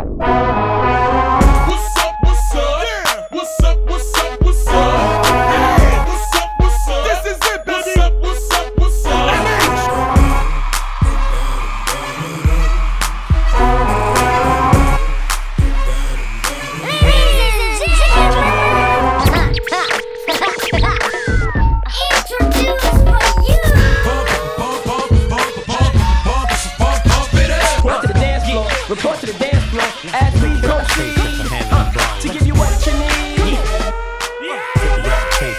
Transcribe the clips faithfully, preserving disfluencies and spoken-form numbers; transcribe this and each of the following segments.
Report to the dance floor as we proceed uh, to give you what you need. Yeah. That's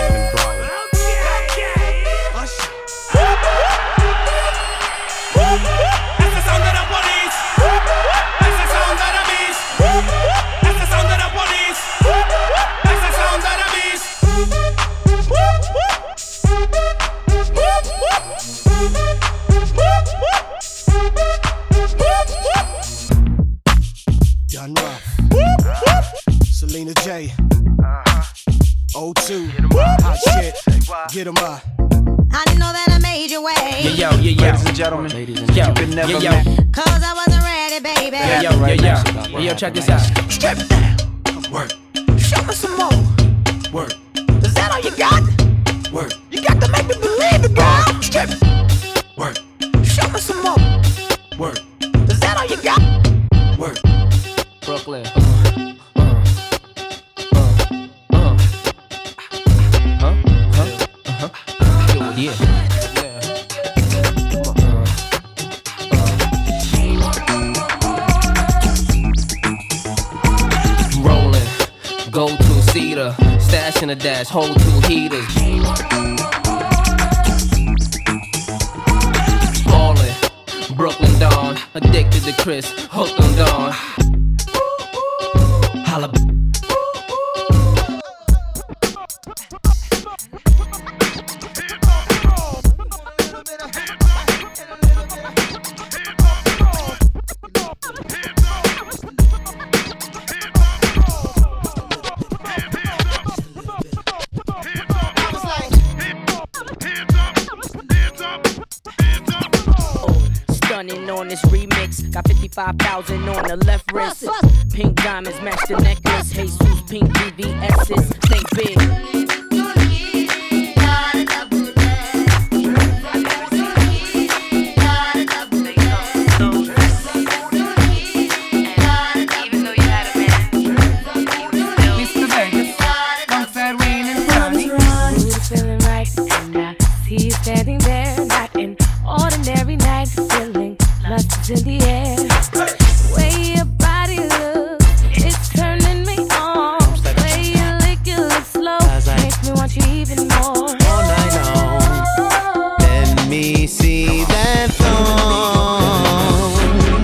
the sound of the police. That's the sound of the beast. That's the sound of the police. That's the sound of the beast. Done rough. Selena J. O two. Hot shit. Get 'em up. I know that I made your way. Yeah, yo, yeah, yo. Ladies and gentlemen, Ladies and gentlemen. yeah, yo. Yeah, yo. Cause I wasn't ready, baby. Yeah, yo, yeah, yo. Yeah, yo, check this out. Strip it down. Work. Show me some more. Work. Is that all you got? Work. You got to make me believe it, girl. Strip it. Work. Show me some more. Work. Is that all you got? Work. Brooklyn. Uh, uh, uh, huh? Huh? Uh-huh. Yeah. Rolling, go to cedar, stash in a dash, hold two heaters. Ballin', Brooklyn Dawn, addicted to Chris, hooked on Dawn. Holla. Stunning on this remix, got fifty-five thousand on the left wrist. Pink diamonds match the necklace. Jesus pink V V S's, think big. Standing there, not an ordinary night, feeling lust is in the air. Way your body looks, it's turning me on. Way you lick, you look slow, makes me want you even more. All night long, let me see that thong,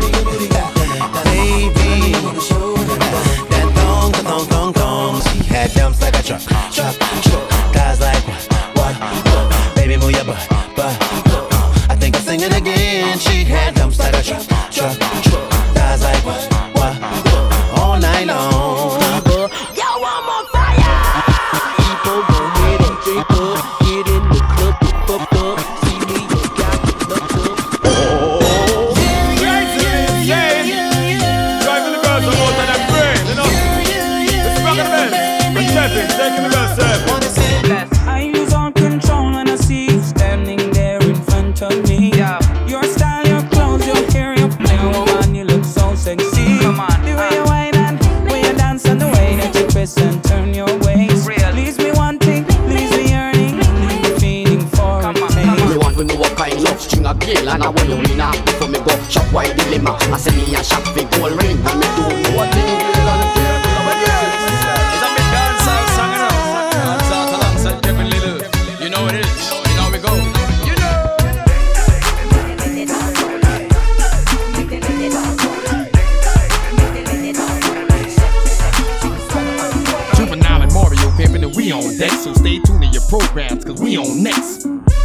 baby. That thong, that thong, thong, thong. She had dumps like a truck, truck, truck. Guys like what, what? Baby, move your butt, butt. I think I'm singing again. She had dumps like a truck, truck, truck. Guys like what, what? All night long. Yo, I'm on fire. People go ahead and drink up, get in the club, get fucked up. See me, you got the fucked up. Oh, yeah, yeah, yeah. Driving the girls are more than a friend, you know. It's rockin' the band. We're stepping, taking the best step. I lose all control when I see you standing there in front of me. Yeah. Your style, your clothes, your hair, your play, woman, you look so sexy. Come on, the way you whine and way you dance and the way that you twist and turn your waist. Real. Leaves me wanting, leaves me yearning, leaves me feeling for a taste. Me want to know what kind love string a girl and I want you in a. Before me go shop white dilemma, I say me a shop for gold ring and me don't know what thing girl and the girl love a girl. It's a big dance out song and out. Dance out alongside Kevin Little. You know what it is. You know how we go. You know. Juvenile and Mario pimpin' and we on deck, so stay tuned to your programs, cause we on next.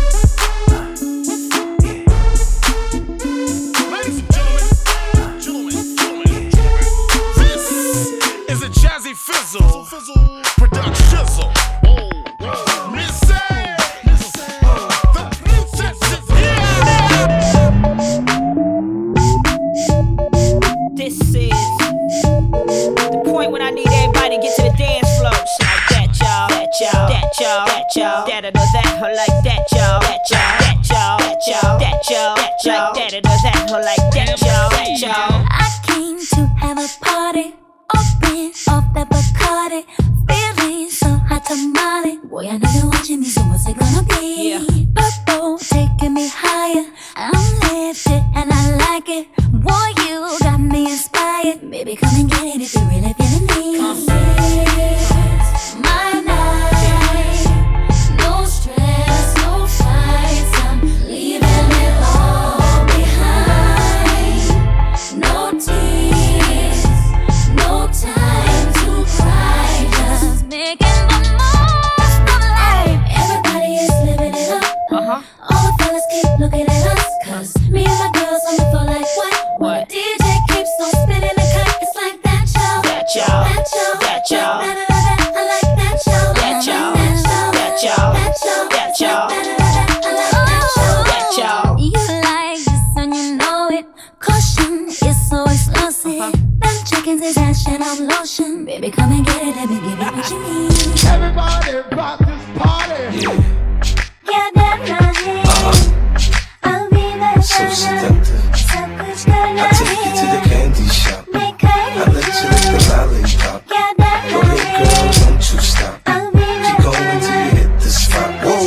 Ladies and gentlemen, gentlemen, gentlemen, this is a Jazzy Fizzle production shizzle. Oh, Missy, the princess is here. This is y'all. That or that, or like that, y'all. That y'all, that y'all, that y'all, that y'all, that y'all. Like that or that, or like that, y'all. That y'all. I came to have a party, open off the Bacardi, feeling so hot tamale. Boy, I know you're watching me, so what's it gonna be? Yeah. Purple taking me higher, I'm lifted and I like it. Boy, you got me inspired. Baby, come and get it if you're really feeling me. It's my night, no stress, no fights. I'm leaving it all behind. No tears, no time to cry. Just making the most of life. Everybody is living it up. Uh-huh. All the fellas keep looking at us, cause me and my girls on the floor like what? What? D J keeps on spinning the cut. It's like that, y'all. That y'all. That y'all. That y'all. Like that, that, that. I like that, y'all. That y'all. That y'all. That y'all. That y'all. That y'all. Like that, that, that. I like that, y'all. That y'all. You like this and you know it. Caution is so explosive. Uh-huh. Them chickens is action of lotion. Baby, come and get it. Let me give you what you need. Everybody rock this party. Yeah, that's not it. I'll be there. So seductive. I take you to the candy shop. I let you lick the lollipop. Go ahead, girl, don't you stop. Keep going till you hit the spot. Whoa.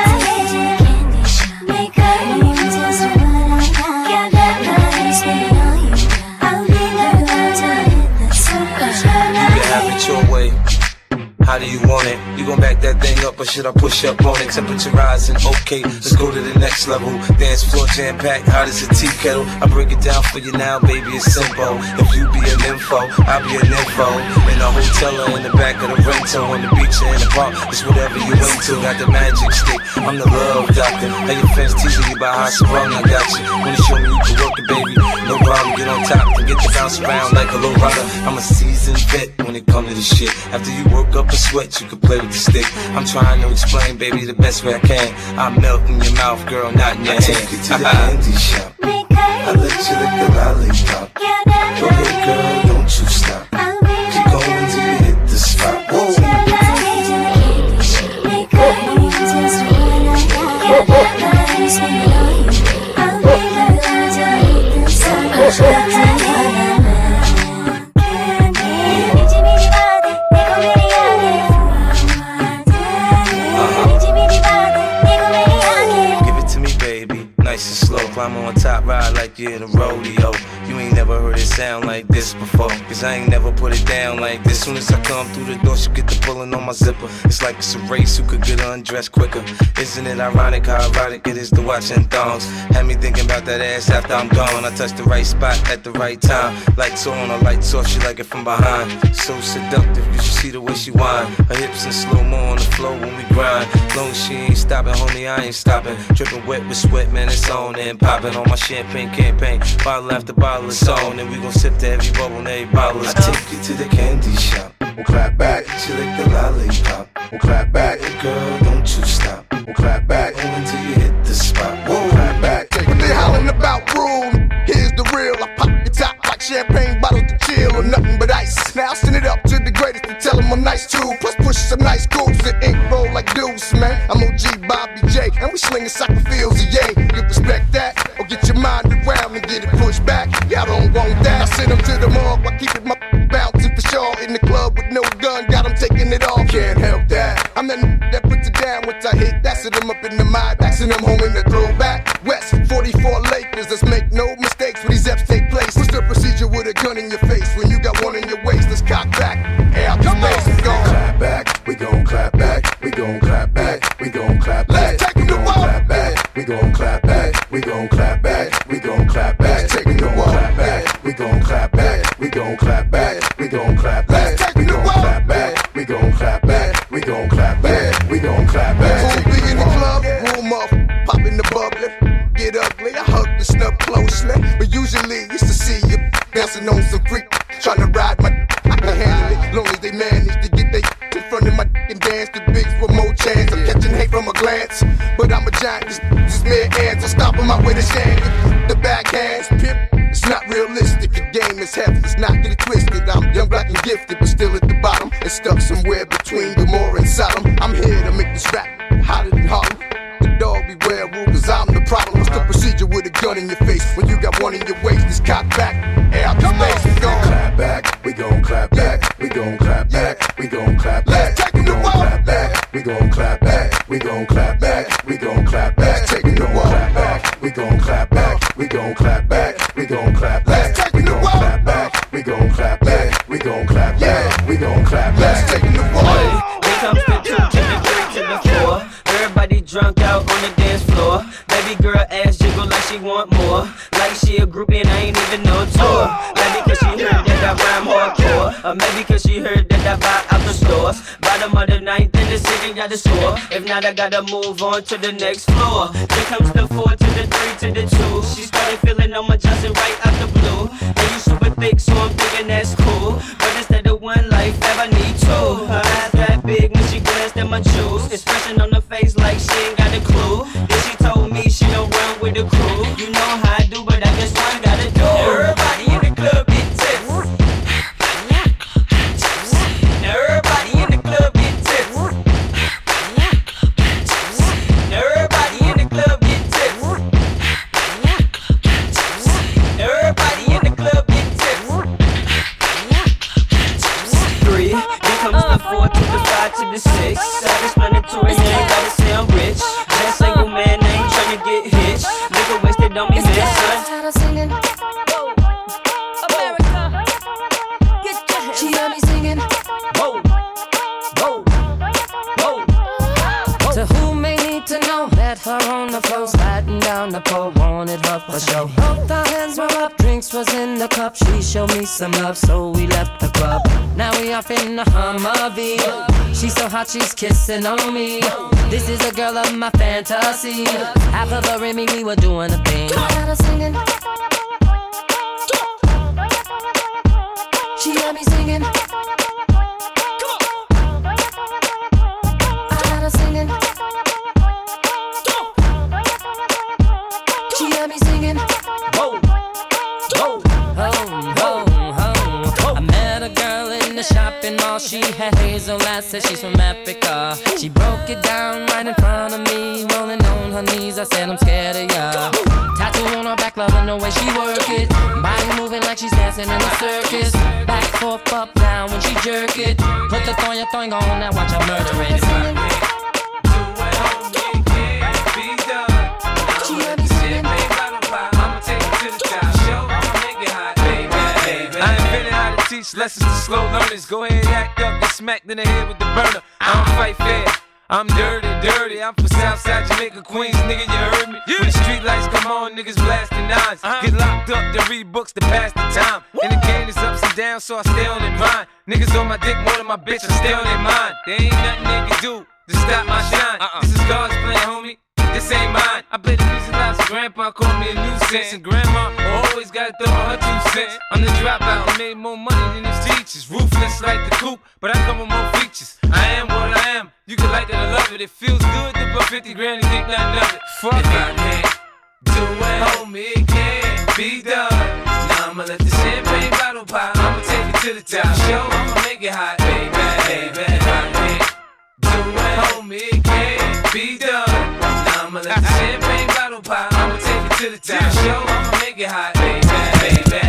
You can have it your way. How do you want it? You gon' back that thing up or should I push up on it? Temperature rising, okay, let's go to the next level. Dance floor jam packed, hot as a tea kettle. I break it down for you now, baby, it's simple. If you be an info, I'll be an info. In a hotel or in the back of the rental, on the beach or in the park, it's whatever you into. Got the magic stick, I'm the love doctor. How your fans teasing you about how strong I got you. Wanna show me you can work it, baby? No problem, get on top and get to bounce around like a low rider. I'm a seasoned vet when it comes to this shit. After you work up a sweat, you can play with the stick. I'm trying to explain, baby, the best way I can. I melt in your mouth, girl, not in your hand. I take you to the candy shop. I let you lick the lollipop. Go ahead, girl, don't you stop. Keep going till you hit the spot. Whoa. Nice and slow, climb on top, ride like you're in a rodeo. You ain't never heard it sound like this before, cause I ain't never put it down like this. Soon as I come through the door, she get the pulling on my zipper. It's like it's a race, who could get undressed quicker. Isn't it ironic how erotic it is to watching thongs? Had me thinking about that ass after I'm gone. I touch the right spot at the right time. Lights on or lights off, she like it from behind. So seductive, you should see the way she whine. Her hips in slow-mo on the floor when we grind. Long as she ain't stopping, homie, I ain't stopping. Dripping wet with sweat, man, it's on and popping on my champagne campaign. Bottle after bottle, it's on, and we gon' sip to every bubble and every bottle. I take you to the candy shop. We'll clap back, she lick the lollipop. We'll clap back, hey girl, don't you stop. We'll clap back, oh, until you hit the spot. We'll clap back. When they hollering about rule, here's the real. I pop the top like champagne bottles to chill or nothing but ice. Now send it up to the greatest and tell them I'm nice too. Plus push some nice grooves that ink roll like deuce, man. I'm O G Bobby J, and we slinging soccer fields of yay. You respect that, or get your mind around and get it pushed back. Y'all don't want that. I send them to the morgue, I keep it my bouncing for sure. In the club with no gun, got them taking it off. Can't help that. I'm that n- that puts it down once I hit. That's them up in the mind, passing them home in the throwback. West forty-four Lakers, let's make no mistakes when these F's take place. What's the procedure with a gun in your face when you got one in your waist? Let's cock back, air out the space, we gon' clap back, we gon' clap back, we gon' clap back, we gon' clap back, we gon' clap back, we gon' clap back, we gon' clap back, we gon' clap back, we gon' clap back, we gon' clap back, we gon' clap back, we gon' clap back, we gon' clap back, we gon' clap back, we gon' clap back, we gon' clap back. Who be in the club, room up, popping the bubbly, get ugly, I hug the snub closely, but usually used to see you bouncing on some freak, trying to ride my I can handle it, long as they manage to get they in front of my and dance the bigs with more chance. I'm catching hate from a glance, but I'm a giant, just, just mere ants. I'm stopping my way to shame. The backhands, pimp, it's not realistic. The game is heavy, let's not get it twisted. I'm young, black, and gifted, but still at the bottom and stuck somewhere between Gomorrah and Sodom. I'm here to make this rap cock back, air out the space. We gon' clap back, we gon' clap back, we gon' clap back, we gon' clap back. Let's take him to war. Clap back, we gon' clap back, we gon' clap back, we gon' clap back. Let's take him to war. Clap back, we gon' clap back, we gon' clap back, we gon' clap back. Let's take him to war. Clap back, we gon' clap back, we gon' clap back, we gon' clap back. Let's take him to war. Here comes the two to the three to the four. Everybody drunk out on the dance floor. Baby girl ass jiggle like she want more. Like she a groupie and I ain't even no tour. Maybe cause she heard that I rhyme hardcore. Or maybe cause she heard that I buy out the stores. Bottom of the ninth in the city got the score. If not I gotta move on to the next floor. Here comes the four to the three to the two. She started feeling on my Johnson right out the blue. And you super thick so I'm thinking that's cool. But instead of one life I need two. Her eyes got big when she glanced at my jewels. Expression on her face like she ain't got a clue. Then she told me she don't run with the crew. You know how I do, but I guess one gotta do. Everybody in the club get tips. Now everybody in the club get tips. Now everybody in the club get tips. Now everybody in the club get tips. Three, here comes the four to the five to the six. Self-explanatory, you ain't gotta say I'm rich. Just single man, I ain't tryna get hitched. Nigga wasted on me, man, son. Singing. America. She heard me singing. Whoa, whoa, whoa. To who may need to know, met her on the floor, sliding down the pole, wanted her for show. Both our hands were up, drinks was in the cup. She showed me some love, so we left the club. Now we off in the Humvee. She's so hot, she's kissing on me. This is a girl of my fantasy. Half of her in me, we were doing a thing. I got her singing. She heard me singing. I got her singing. She heard me singing. Whoa, whoa, oh, oh, oh. I met a girl in the shopping mall. She had hazel eyes, said she's from Africa. She broke it down right in front of me, rolling on her knees. I said I'm scared of ya. Tattoo on her back, loving the way she work it. Body moving like she's dancing in a circus. Back, forth, up, down when she jerk it. Put the thong, your thong on, now watch her murder it. Lessons to slow learners. Go ahead, act up, get smacked in the head with the burner. I don't fight fair. I'm dirty, dirty. I'm from Southside Jamaica, Queens, nigga, you heard me? Yeah. When the street lights come on, niggas blasting nines. Uh-huh. Get locked up to read books to pass the time. Woo. And the game is ups and downs, so I stay on their mind. Niggas on my dick more than my bitch, I stay on their mind. There ain't nothing they can do to stop my shine. Uh-uh. This is God's plan, homie. This ain't mine. I play the music loud, so grandpa called me a nuisance. And grandma always gotta throw her two cents. I'm the dropout, I made more money than his teachers. Ruthless like the coupe, but I come with more features. I am what I am, you can like it or love it. It feels good to put fifty grand and think nothing of it. Fuck if I can't do it, homie, it can't be done. Now I'ma let the champagne bottle pop. I'ma take it to the top. Show, I'ma make it hot, baby, baby. If I can't do it, homie, it can't be done. I'ma let the champagne bottle pop. I'ma take it to the top. Show, I'ma make it hot, baby, baby.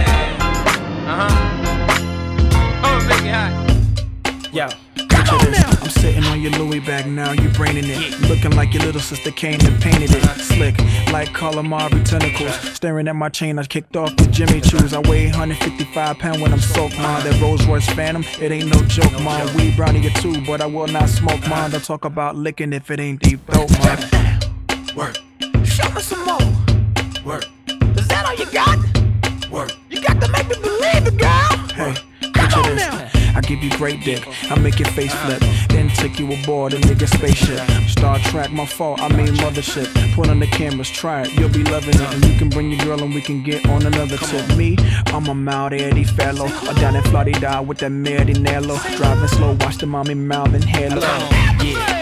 Uh-huh. I'ma make it hot. Yo, picture this. I'm sitting on your Louis bag now, you braining it. Looking like your little sister came and painted it. Slick, like calamari tentacles. Staring at my chain, I kicked off the Jimmy Choos. I weigh one hundred fifty-five pounds when I'm soaked, man. That Rolls Royce Phantom, it ain't no joke, man. Weed brownie or two, but I will not smoke, man. Don't talk about licking if it ain't deep dope, man. Work. Show me some more. Work. Is that all you got? Work. You got to make me believe it, girl. Hey, picture this. I give you great dick, I make your face flip. Then take you aboard a nigga spaceship. Star Trek, my fault, I mean mothership. Put on the cameras, try it, you'll be loving it. And you can bring your girl and we can get on another tip. Me, I'm a mild Eddie fellow. Or down in Florida with that Marinello. Driving slow, watch the mommy mouth and halo. Yeah.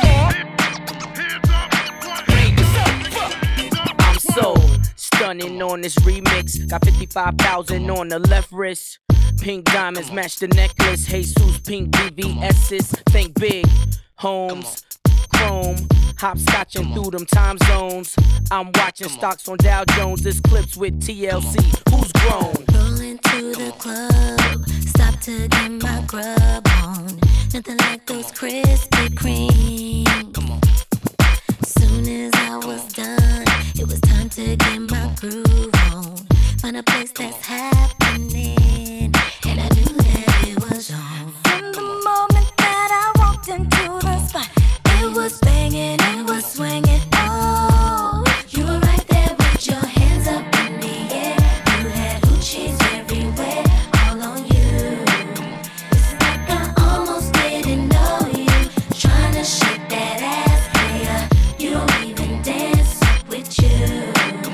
On on this remix. Got fifty-five thousand on the left wrist. Pink diamonds match the necklace. Jesus, pink D V S's. Think big. Homes, chrome. Hopscotching through them time zones. I'm watching stocks on Dow Jones. This clips with T L C. Who's grown? Rolling to the club. Stop to get my grub on. Nothing like those Krispy Kreme. Come on. Soon as I was done, it was time to get my groove on. Find a place that's happening, and I knew that it was on. From the moment that I walked into the spot, it was banging, it was swinging. Oh, you were right there with your hands up in the air. You had hoochies everywhere, all on you. It's like I almost didn't know you. Trying to shake that ass, player. You don't even dance with you.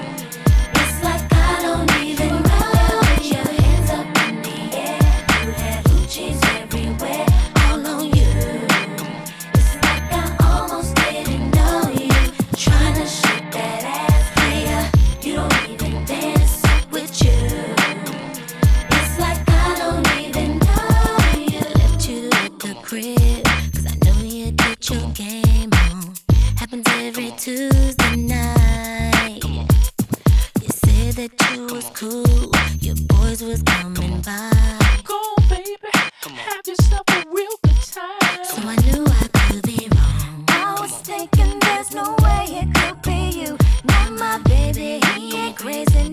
It's like I don't even know. With your hands up in the air, you had hoochies everywhere, all on you. It's like I almost didn't know you. Trying to shake that ass, player. You don't even dance with you. It's like I don't even know you. Left you at the crib, 'cause I know you get your game on. Happens every Tuesday night. You said that you was cool, your boys was coming by. Go on, baby, have yourself a real good time. So I knew I could be wrong. I was thinking there's no way it could be you. Not my baby, he ain't crazy,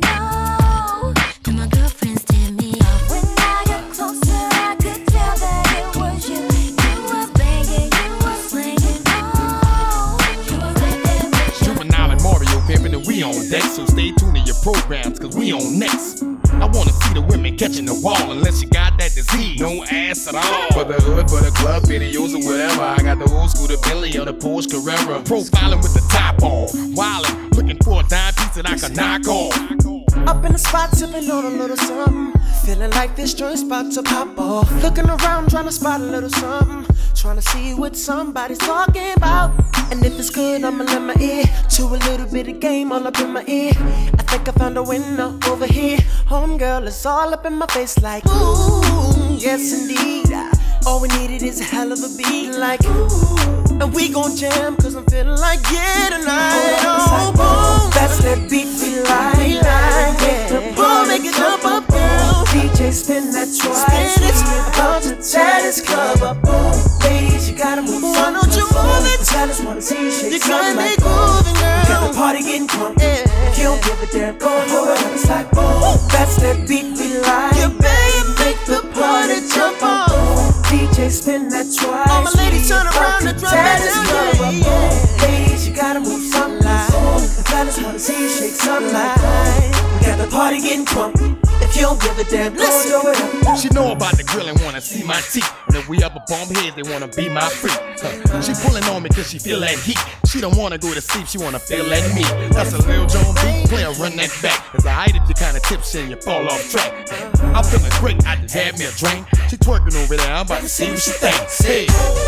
no. Then my girlfriends did me off. When I got closer, I could tell that it was you. You was banging, you was swinging, oh. You were right there with your Juvenile and Mario pimping and we on deck, so stay tuned to your programs, cause we on next. I wanna see the women catching the ball unless you got that disease. No ass at all. For the hood, for the club, videos or whatever. I got the old school, the Billy or the Porsche Carrera. Profiling with the top off. Wildin', looking for a dime piece that I can knock off. Up in the spot, sipping on a little something. Feeling like this joint's about to pop off. Looking around, trying to spot a little something. Trying to see what somebody's talking about. And if it's good, I'ma lend my ear to a little bit of game all up in my ear. I think I found a window over here. Homegirl, it's all up in my face like, ooh, yes indeed. All we needed is a hell of a beat like, ooh. And we gon' jam, cause I'm feeling like, yeah, tonight. Oh, boom, that's that beat we like, like yeah. Boom, make it jump up, girl. D J spin that twice. Spin it, about to tear this club up. Boom, ladies, you gotta move. Why don't you move it? I just wanna see you shake. You gotta make moving, girl. Got the party getting drunk. Yeah. If you don't give a damn, go and hold it. It's like, boom, that's that beat we like. You babe, make the party jump up. D J spin that twice. All my ladies turn around and drop that down, yeah, yeah. Ladies, you gotta move something like. The fellas wanna see you shake something like. We got the party getting drunk. If you don't give a damn, listen. She know about the grill and wanna see my teeth. And if we ever bump heads, they wanna be my freak. Huh. She pulling on me cause she feel that heat. She don't wanna go to sleep, she wanna feel that meat. That's a Lil Jon beat, player run that back. As I hide it, you kinda tips and you fall off track. I'm feeling great, I just had me a drink. She twerking over there, I'm about to see what she thinks. Hey.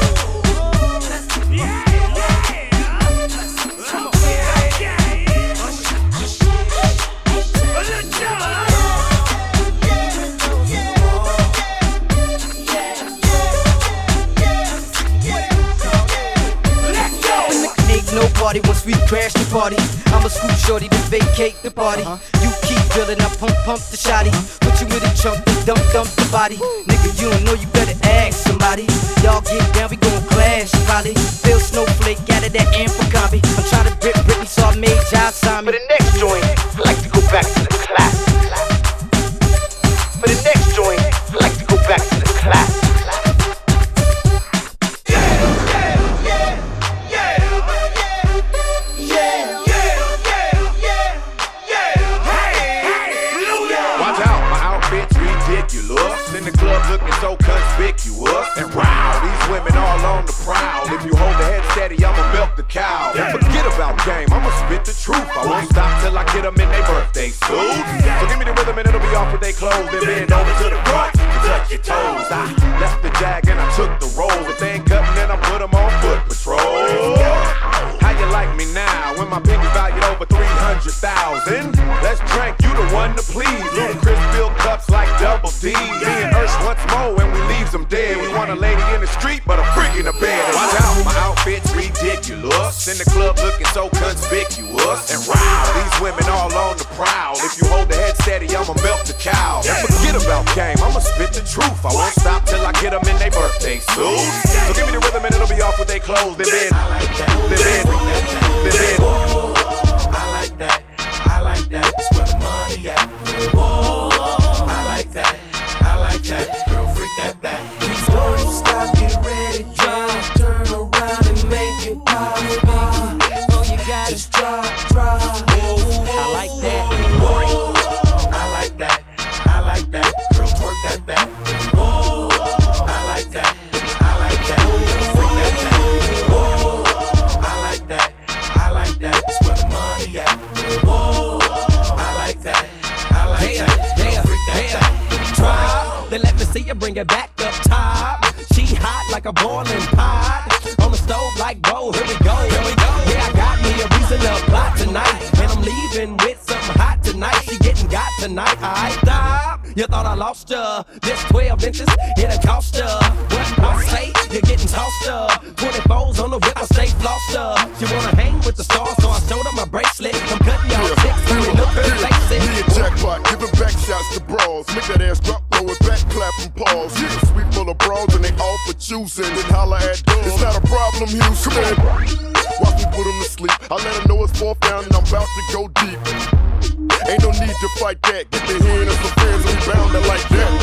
No party once we crash the party. I'ma scoop shorty to vacate the party. Uh-huh. You keep building up, pump, pump the shotty. Put you in a trunk, then dump, dump the body. Nigga, you don't know, you better ask somebody. Y'all get down, we gon' clash probably. Bill Snowflake out of that Amphicombie. I'm trying to rip Britney, so I made John sign me. For the next joint, I like to go back to the classics. For the next joint, I like to go back to the classics. In the club looking so conspicuous. And wow, these women all on the prowl. If you hold the head steady, I'ma milk the cow. And forget about game, I'ma spit the truth. I won't stop till I get them in their birthday suit. So give me the rhythm and it'll be off with their clothes. Then bend over to the front and touch your toes. I left the jag and I took the roll. If they ain't cutting, then I put them on foot patrol. How you like me now when my pinky valued over three hundred thousand? Let's drink, you the Me and Ursh once more when we leaves them dead. We want a lady in the street, but a freak in the bed. Watch out, my outfit's ridiculous. In the club looking so conspicuous. And wow, these women all on the prowl. If you hold the head steady, I'ma melt the cow. And forget about game, I'ma spit the truth. I won't stop till I get them in their birthday suits. So give me the rhythm and it'll be off with their clothes. Then then, then then, then then. I like that, I like that. It's where the money at. Whoa, I like that, I like that. Girl, freak that back. Please don't stop, get ready, drive, turn around and make it pop, baby. Oh, you got it, drop, drop. I like that. Whoa, I like that, I like that. Girl, twerk that back. Whoa, I like that, I like that. Freak that back. Whoa, I like that, I like that. It's where the money at. Whoa, I like that, I like that. Girl, freak that back. Drop, then let me see you bring it back up top. She hot like a boiling pot. On the stove like, whoa, here we go, here we go. Yeah, I got me a reason to plot tonight. And I'm leaving with something hot tonight. She getting got tonight. I stop. You thought I lost ya. This twelve inches, it'll cost ya. What I say, you're getting tossed up. twenty-fours on the whip, I stay flossed up. She wanna hang with the stars, so I showed her my bracelet. I'm cutting y'all chicks, so they look her face it. Me and Jackpot, giving back shots to bras. Make that ass drop, throw it back, clap and pause. Yeah, sweet full of bras and they all for choosing. Then holla at dog. It's not a problem, Houston. Watch me put them to sleep. I let them know it's fourth down and I'm about to go deep. Ain't no need to fight that. Get the hand of some fans and we bound it like that.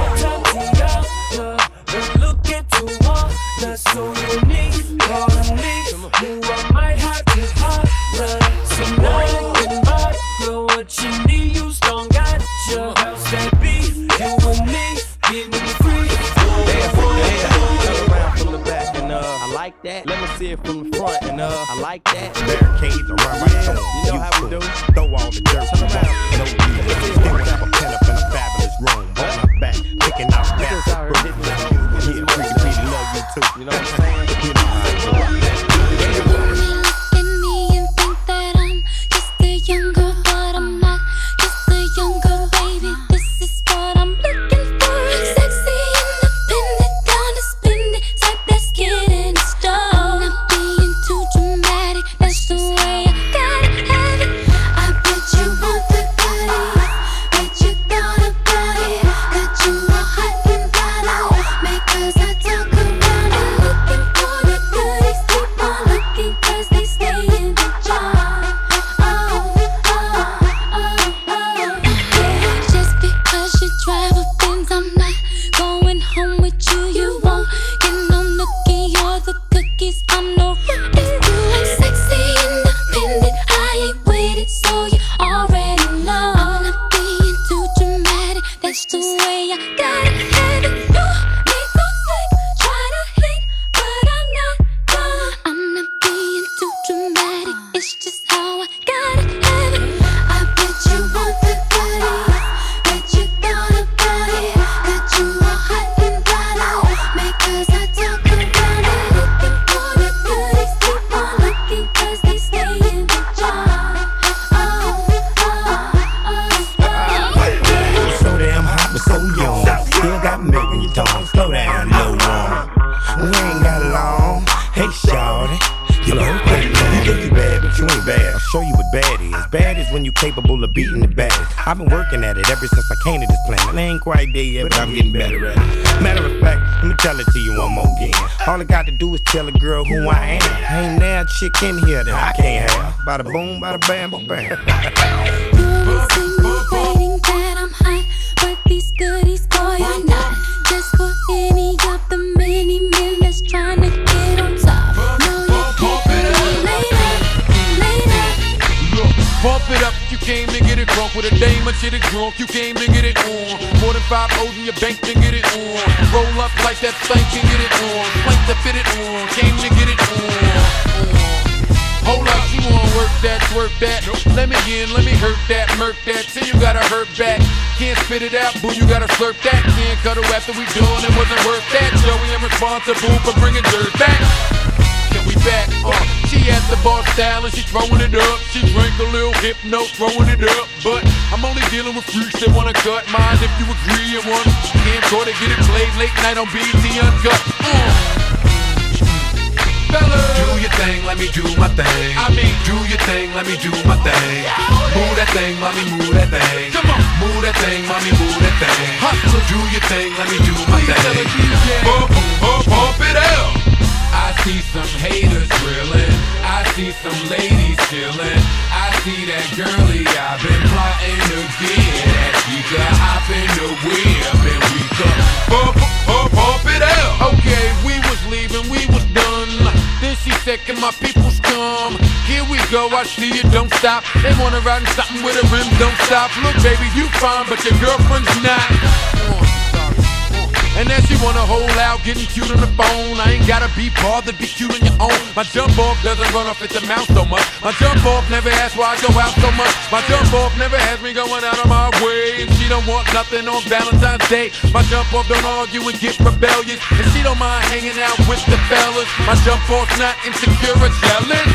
Look into one that's so unique. Calling me, who I might have to holler. So now you can buy, girl, what you need. You strong, got your house that beef. You and me, getting free. Turn around from the back and uh, I like that. Let me see it from the front and uh, I like that. Barricades around my yeah, you know how we do. Throw all the dirt. Turn around. No need. They would have a pen up in a fabulous room. On my back, picking out back. Yeah, pretty, pretty love you too. You know what I'm saying? You know how I do. Look at me and think that I'm just a young girl, but I'm not just a young girl, baby. This is what I'm looking for. Sexy, independent, down to spend it. Type that's getting it started. Not being too dramatic, that's the way I gotta have it. I bet you want the goodies, bet you thought about it. Got you all hot and bothered, because I talk around it. Looking for the goodies, keep on looking, cause they stay in the jar. Oh, oh, oh, oh, yeah. Just because you drive a Benz, I'm not going home with you. You won't get no nookie or the cookies. I'm no rookie. I'm sexy, independent, I ain't with it, so you already know. I'm not being too dramatic, that's the way I gotta have it. You make those slick, try to hit, but I'm not done. I'm not being too dramatic, it's just how I gotta have it. I bet you want the goodies, bet you thought about it. Got you all hot and bothered, because I talk around it. Looking for the goodies, keep on looking, cause they stay in the jar. Oh, oh, oh, oh. So damn hot but so young. Still got milk in your tongue. Slow down, little one. We ain't got long. Hey, shawty. You know, you think you bad, but you ain't bad. I'll show you what bad is. Bad is when you capable of beating the baddest. I've been working at it ever since I came to this planet. I ain't quite there yet, but I'm getting better at it. Matter of fact, let me tell it to you one more again. All I got to do is tell a girl who I am. Ain't now a chick in here that I can't have. Bada boom, bada bam, bada bam. Insinuating that I'm hot, but these goodies, boy, are not just for any of the many men that's trying to get on top. No, you can't be later, later. Look, bump it up, you came to get it drunk with a dame or shit it drunk, you came to get it on. More than five O's in your bank to get it on. Roll up like that thing can get it on. Plank to fit it on, came to get it on. Hold up, you wanna work that, twerk that. Let me in, let me hurt that, murk that. Till you gotta hurt back. Can't spit it out, boo, you gotta slurp that. Can't cut her after we done, it wasn't worth that. Joey, I'm responsible for bringing dirt back. Can we back? Uh, she at the bar style and she throwing it up. She drank a little hypno, throwing it up. But I'm only dealing with freaks that wanna cut mine. If you agree and want camcorder, get it played late night on B E T Uncut. Mm. Fellas, do your thing, let me do my thing. I mean, do your thing, let me do my thing. Move that thing, mommy, move that thing. Come on, move that thing, mommy, move that thing. Hustle, do your thing, let me do my thing. Bump, bump, bump it out. I see some haters drilling. I see some ladies chilling. I see that girlie I've been plotting to get at. She could hop in the whip and we could bump, bump, bump it out. Okay, we was leaving, we was done. Then she said, can my peoples come? Here we go, I see you, don't stop. They wanna ride in something with a rim, don't stop. Look, baby, you fine, but your girlfriend's not. And then she wanna hold out, getting cute on the phone. I ain't gotta be bothered, be cute on your own. My jump off doesn't run off at the mouth so much. My jump off never asks why I go out so much. My jump off never has me going out of my way. And she don't want nothing on Valentine's Day. My jump off don't argue and get rebellious. And she don't mind hanging out with the fellas. My jump off's not insecure or jealous.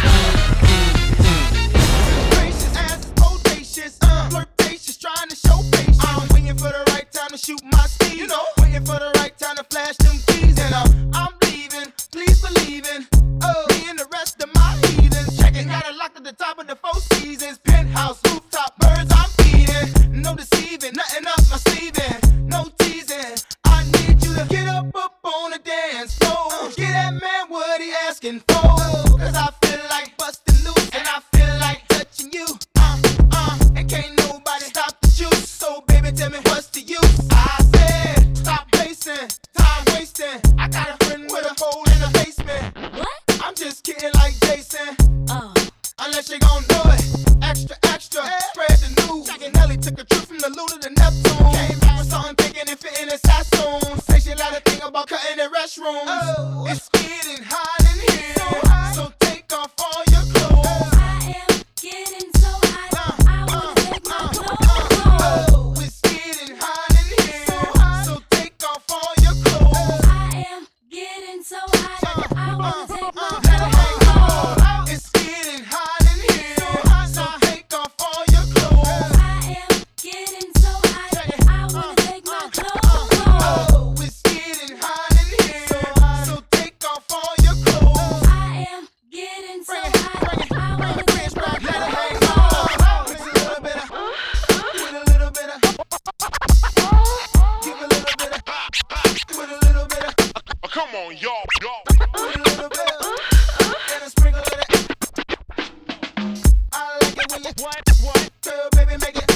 Gracious ass is bodacious, uh, flirtatious, trying to show patience. I'm waiting for the right time to shoot my steed, you know. Waiting for the right time to flash them keys. And uh, I'm leaving, please believe in. Oh, me and the rest of my heathens. Checking, got it locked at the top of the Four Seasons. Penthouse, rooftop, birds I'm feeding. No deceiving, nothing up my sleeving. No teasing, I need you to get up, up on the dance floor. Get that man what he asking for. Cause I feel like busting loose and I feel like touching you. Uh, uh, and can't nobody stop the juice. So baby, tell me what's the use? I said, stop wasting, time wasting. I got a friend with a hole in the basement. What? I'm just kidding like Jason. Oh. Unless you gon' do it. Extra, extra, spread the news. Nelly took a trip from the Luna to Neptune. Came back with something big and it fit in his Sassoon. Say she like to think about cutting the restrooms. Oh. It's getting hot in here. So, hot. So take off all your clothes. I am getting so hot. Uh, I wanna uh, take my uh, clothes off. Oh, it's getting hot in here. So, hot. So take off all your clothes. I am getting so hot. Uh, I wanna uh, take my uh, clothes off. It's getting hot in here. So, hot. So take off all your clothes. I am getting so hot. I wanna take my clothes off. Oh, it's getting hot in here. So, hot. So take off all your clothes. I am getting so hot. I wanna take my clothes off. With a little bit of, with a little bit of, give a little bit of, with a little bit of. Come on, y'all, y'all. With a little bit of, and a sprinkle of that. I like it when you what, what, girl, baby, make it.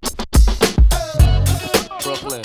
Brooklyn.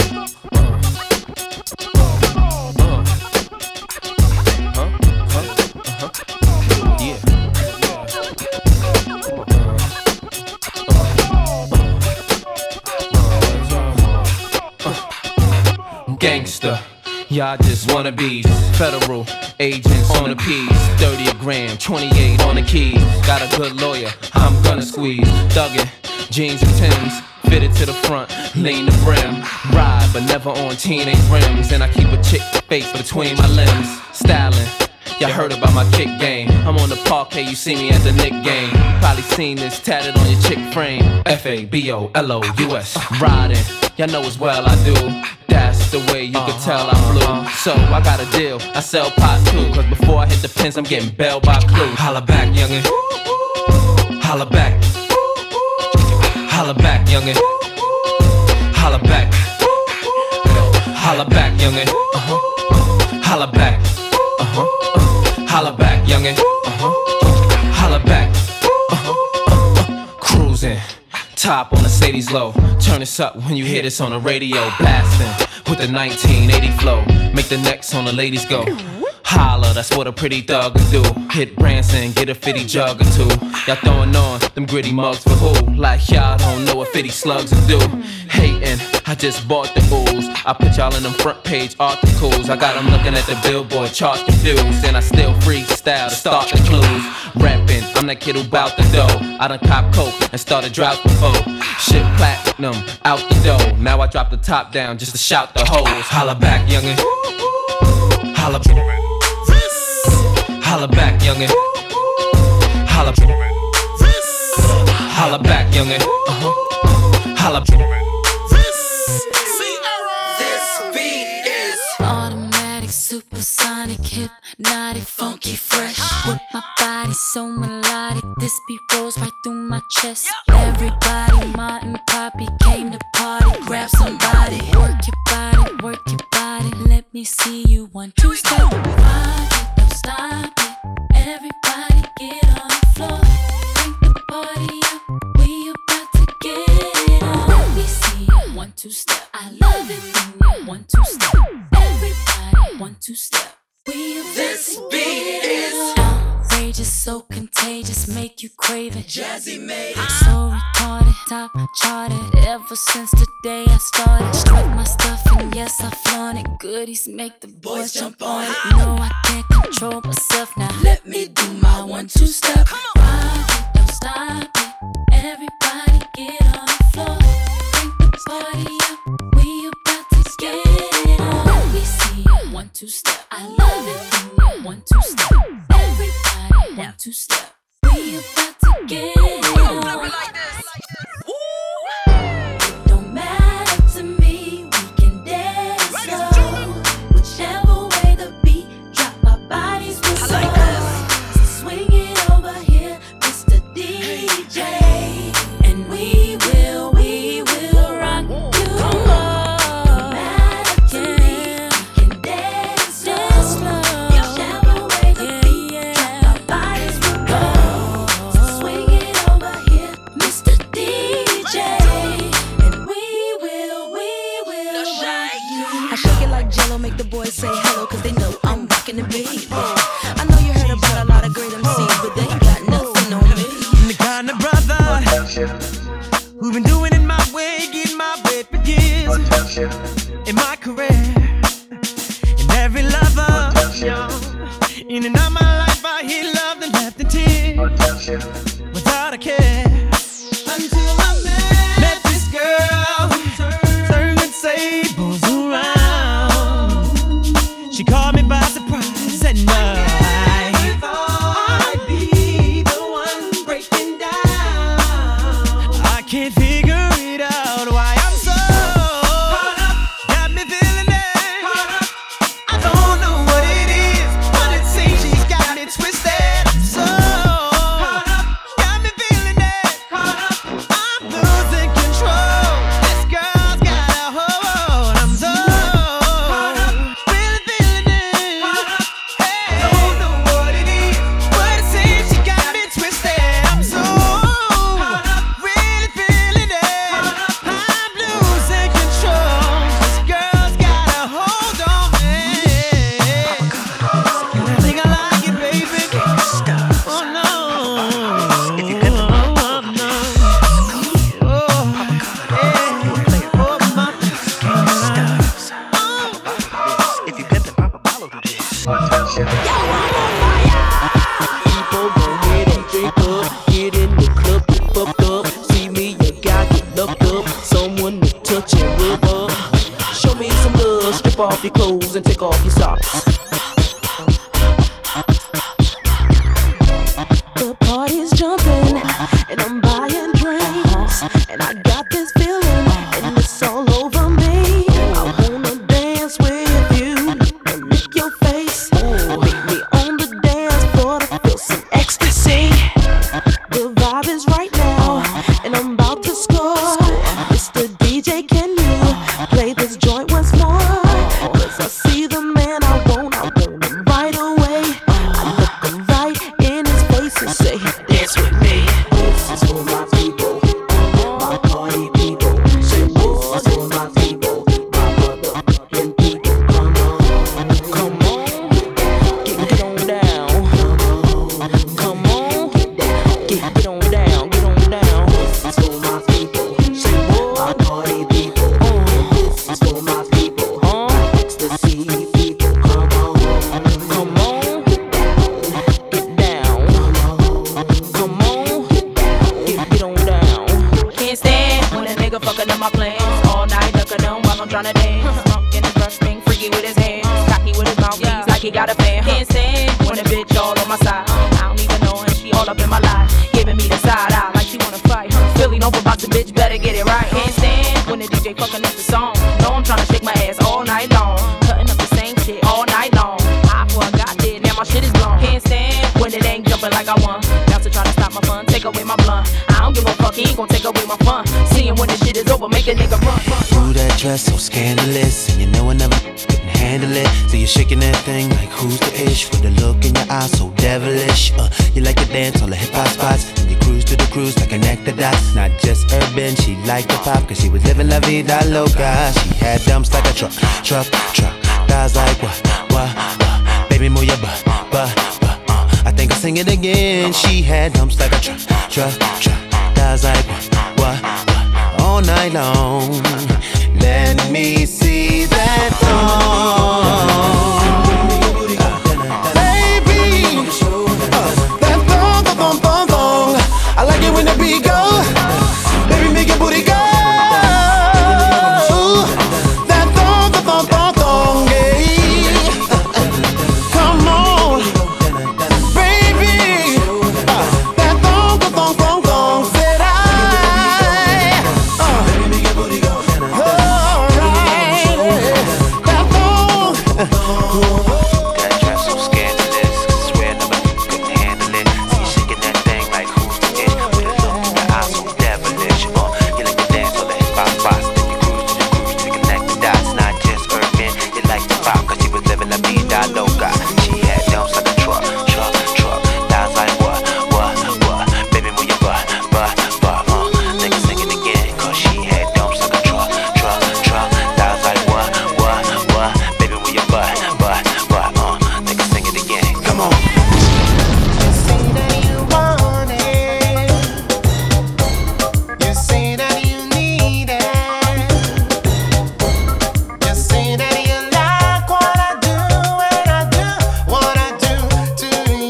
Gangsta, y'all just wanna be federal agents on the P's. thirty a gram, twenty-eight on the keys. Got a good lawyer, I'm gonna squeeze. Thuggin', jeans and Timbs, fitted to the front, lean the brim. Ride, but never on teenage rims. And I keep a chick face between my limbs. Styling, y'all heard about my kick game. I'm on the parquet, you see me at the Knick game. Probably seen this tatted on your chick frame. F A B O L O U S. Riding, y'all know as well I do. That's the way you can tell I'm blue. So I got a deal, I sell pot too. Cause before I hit the pins, I'm getting bailed by Clue. Holla back, youngin'. Holla back. Holla back, youngin'. Holla back. Holla back, youngin'. Uh-huh. Holla back. Uh-huh. Holla back, youngin'. Uh-huh. Holla back. Uh-huh. Cruising. Top on the Sadie's low. Turn this up when you hear this on the radio. Blasting with the nineteen eighty flow. Make the necks on the ladies go. Holla, that's what a pretty thug can do. Hit Branson, get a fifty jug or two. Y'all throwing on them gritty mugs for who? Like y'all don't know what fifty slugs will do. Hating, I just bought the ooze. I put y'all in them front page articles. I got them looking at the Billboard chart confused. And I still freestyle to start the clues. Rapping, I'm that kid who bout the dough. I done cop coke and started drought before. Shit platinum, out the dough. Now I drop the top down just to shout the hoes. Holla back, youngin'. Holla back. Holla back, youngin'. Holla back. Holla back, youngin'. Uh-huh. Holla. Automatic, supersonic, hypnotic, funky, fresh. With my body so melodic, this beat rolls right through my chest. Everybody, Martin, Poppy came to party. Grab somebody, work your body, work your body. Let me see you one, two, step. Rock it, don't stop it. Everybody get on the floor. Crank the party up, we about to get it on. Let me see you one, two, step. I love it when you one, two, step. Everybody, one, two, step. We about this to beat get it is on. Outrageous, so contagious, make you crave it. Jazzy made it. So retarded, top charted. Ever since the day I started, strike my stuff and yes I flaunt it. Goodies make the boys jump on it. No, I can't control myself now. Let me do my one, two step. Rock it, don't stop it. Everybody get on the floor. Crank the party up, we about to get it on. Let me see you one, two step. I love it when you one, two step. Everybody one, two step. We about to get it on. It don't matter to me, we can dance slow. Whichever way the beat drop, our bodies will slow. So swing it over here, Mister D J, and we will, we will rock you. No matter to me, we can dance slow. Whichever way the beat drop, our bodies will go. So swing it over here, Mister D J, and we will, we will rock you. I shake it like Jello, make the boys say hello, cause they know I'm rocking the beat. I know you heard about a lot of great M Cs, but they ain't got nothing on me. I'm the kind of brother who been doing it my way, getting my way for years in my career. And every lover, in and out my life, I hear love and left in tears without a care. Until I met, met this girl who turned the tables around. She caught me by surprise and I thought I'd be the one breaking down. I can't figure it out why I'm so caught up. Got me feeling it. Caught up. I don't know what it is, but it seems she's got me twisted. So caught up. Got me feeling it. Caught up. I'm losing control. This girl's got a hold. I'm so caught up. Really feeling it. Caught up. Hey, I don't know what it is, but it seems she got me twisted. I'm so caught up. Really feeling it. Caught up. I'm losing control. This girl's got a hold on me. And I think I like it, baby. Oh no. If you get the oh, no. Oh, yeah. Oh, my. If you get the Papa Balo to this. People go ahead and drink up, get in the club, get fucked up. See me, you got get locked up. Someone to touch and rub up. Show me some love, strip off your clothes and take off your socks. The party's jumping, and I'm buying drinks, and I got this feeling, and it's all over me. I wanna dance with you, and lick your face, meet me on the dance floor to feel some ecstasy. The vibe is right now, and I'm about to score. Mister D J, can you play this joint once more? 'Cause I see the man I want, I want take away my blunt. I don't give a fuck, he ain't gon' take away my fun. Seeing when this shit is over, make a nigga run, run. Ooh, that dress so scandalous, and you know I never couldn't handle it. So you're shaking that thing like who's the ish, with a look in your eyes so devilish. Uh, you like to dance on the hip hop spots, and you cruise to the cruise like an actor dots. Not just urban, she liked the pop, cause she was living la vida loca. She had dumps like a truck, truck, truck. Guys like what, what, what? Baby, move your butt, butt, butt. Uh, I think I'll sing it again. She had dumps like a truck, truck, truck. Guys like what, what, what? All night long. Let me see that thong. I like it when the beat go. Baby, make your booty go. That thong, that thong, thong, thong, yeah. Come on, baby. That thong, that thong, thong, thong, said I. Uh, Baby, make your booty go. All right, that thong. That dress so scandalous, I swear nobody couldn't handle it. See you shaking that thing like who's the ish, with a look in your eyes so devilish. Uh, you like to dance on the hip hop spots, then you cruise to the cruise to connect the dots. Not just urban, you like the pop, cause she was living la vida loca. She had dumps like a truck, truck, truck. Dials like what, what, what? Baby, move your butt, butt, butt. Uh, nigga sing it again, cause she had dumps like a truck, truck, truck. Dials like what, what, what? Baby, move your butt, butt, butt. Uh, nigga sing it again, come on. You say that you need it. You say that you like what I do when I do what I do to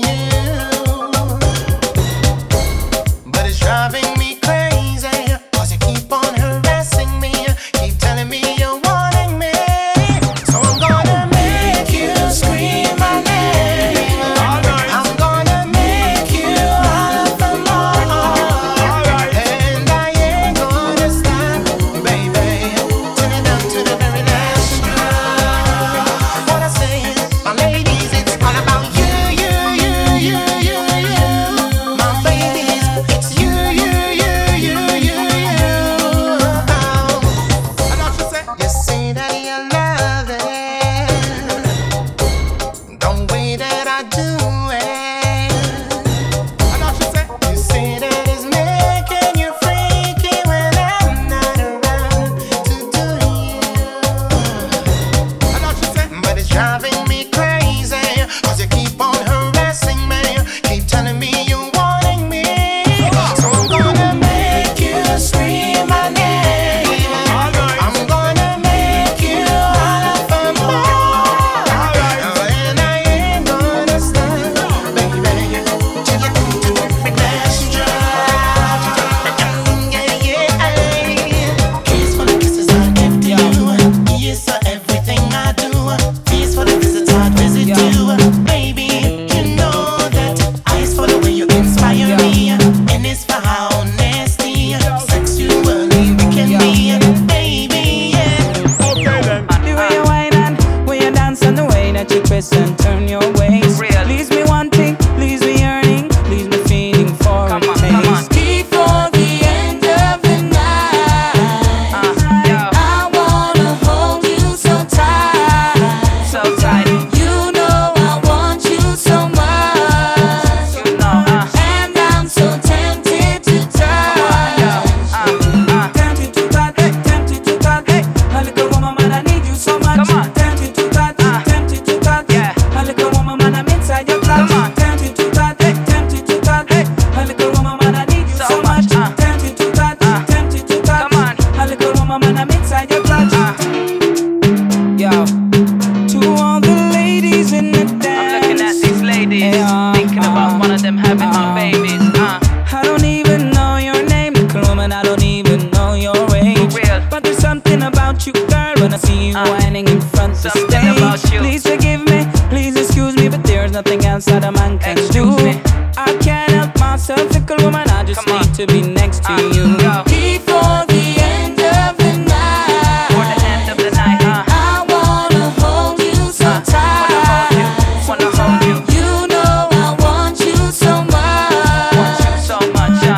you. But it's driving me crazy, cause you keep on harassing me, keep telling me you're wanting me. So I'm gonna make you scream my name. I'm gonna make you holler for more. And I ain't gonna stop, baby, till it down to the very last drop. What I say is, my ladies, it's all about you, you, you, you, you, you. My babies, it's you, you, you, you, you, you. I know what you say. You say that you love it, the way that I do it. I know what you say. You say that it's making you freaky when I'm not around to do you. I know what you say. But it's driving me crazy, cause you keep on harassing me, keep telling me you're wanting me. So I'm gonna make you scream my name. I'm gonna make you holler for more. And I ain't gonna stop, baby, till you come to the last drop. Yeah, yeah. Kiss for the kisses I give to you. Yes, for everything I do. Feast for the visits I visit you. Baby, you know that ice for the way you inspire me. And it's for how nasty, sexually we can be. Baby, yeah. The way you whine and when you dance and the way that you twist and turn your waist. Leaves me wanting, leaves me yearning, leaves me feeling for a taste. Before the end of the night, I wanna hold you so tight, so tight. You know I want you so much, You know, uh, and I'm so tempted to touch. tempted to touch, eh, tempted to touch, eh. A little woman, man, I need you so much. Come on. Tempted to touch, tempted to touch, Yeah. A little woman, man, I'm inside your clutch. Come on. Tempted to touch, eh, tempted to touch, eh. A little woman, man, I need you so, So much. much, uh. Tempted to touch, tempted to touch, Come on. A little woman, man, I'm inside your clutch. Yo, to all the ladies in the dance. I'm looking at these ladies, Yeah, thinking about uh, one of them having uh, some babies. Uh, I don't even know your name, little woman. I don't even know your age. For real. But there's something about you, girl, when I see you Uh, whining in front of the something stage. about you. Please forgive me, please excuse me, but there's nothing else that a man can Excuse do. me. I can't help myself, little woman. I just Come need on. to be next to uh, you. Go. Before the end of the night, For the end of the night, uh, I wanna hold you so uh, tight. wanna hold you, wanna hold you, You know I want you so much, want you so much.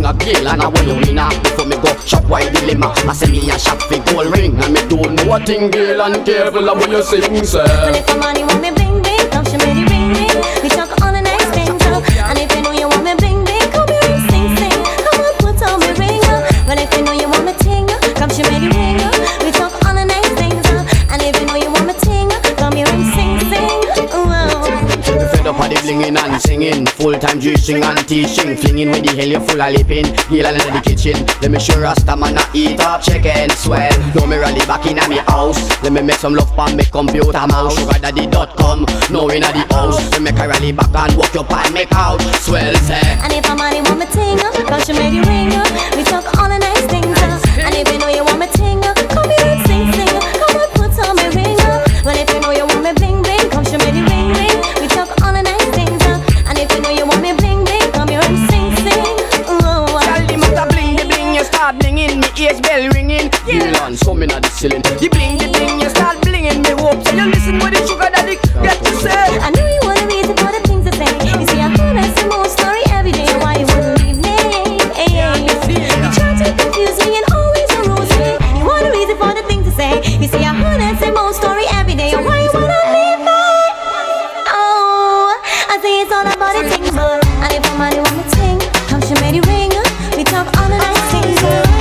thing a kill and a when you winner. Before me go shop wide dilemma, I say me a shop for gold ring and me don't know what thing girl and careful of when you sing sir. Well if the money want me bling bling, come show me the ring ring. We talk all the nice things up. And if you know you want me bling bling, come here and sing sing. Come on put on me ring up. Well if you know you want me ting up, come show me the ring up. We talk all the nice things up. And if you know you want me ting up, come here and sing sing. Ooh, we fed up of the blinging and singing, full-time juicing and teaching, flinging with the hell you full of lipping, heel in the kitchen. Let me show Rasta man a eat up chicken swell. Now me rally back in a me house. Let me make some love pan me computer mouse. Sugar daddy dot com, now in a the house. We make a rally back and walk your pan make out. Swell say. and if a money want me ting up, come show me the ring up. We talk all the nice things up. And if you know you want me ting up, come here and sing sing. Come on put on me ring up. Well if you know you want me bling bling, come show me the ring ring. We talk all the nice things up. And if you know you want me bling bling, come here and sing sing. Ooh, tell the matter bling the bling, you start blinging, me ears bell ringing. Girl and some inna the ceiling. The bling the bling, you start blinging, me hope so you listen what the sugar daddy get to say. I know you wanna reason for the things to say. You see I heard I see more story every day. Why you wouldn't leave me? Hey, you try to confuse me and always arose me. You want a reason for the things to say. You see I heard I see more story every day. Why you wanna leave me? Oh, I say it's all about the thing, but and if somebody want me ting, come show me the ring. We talk all the nice things.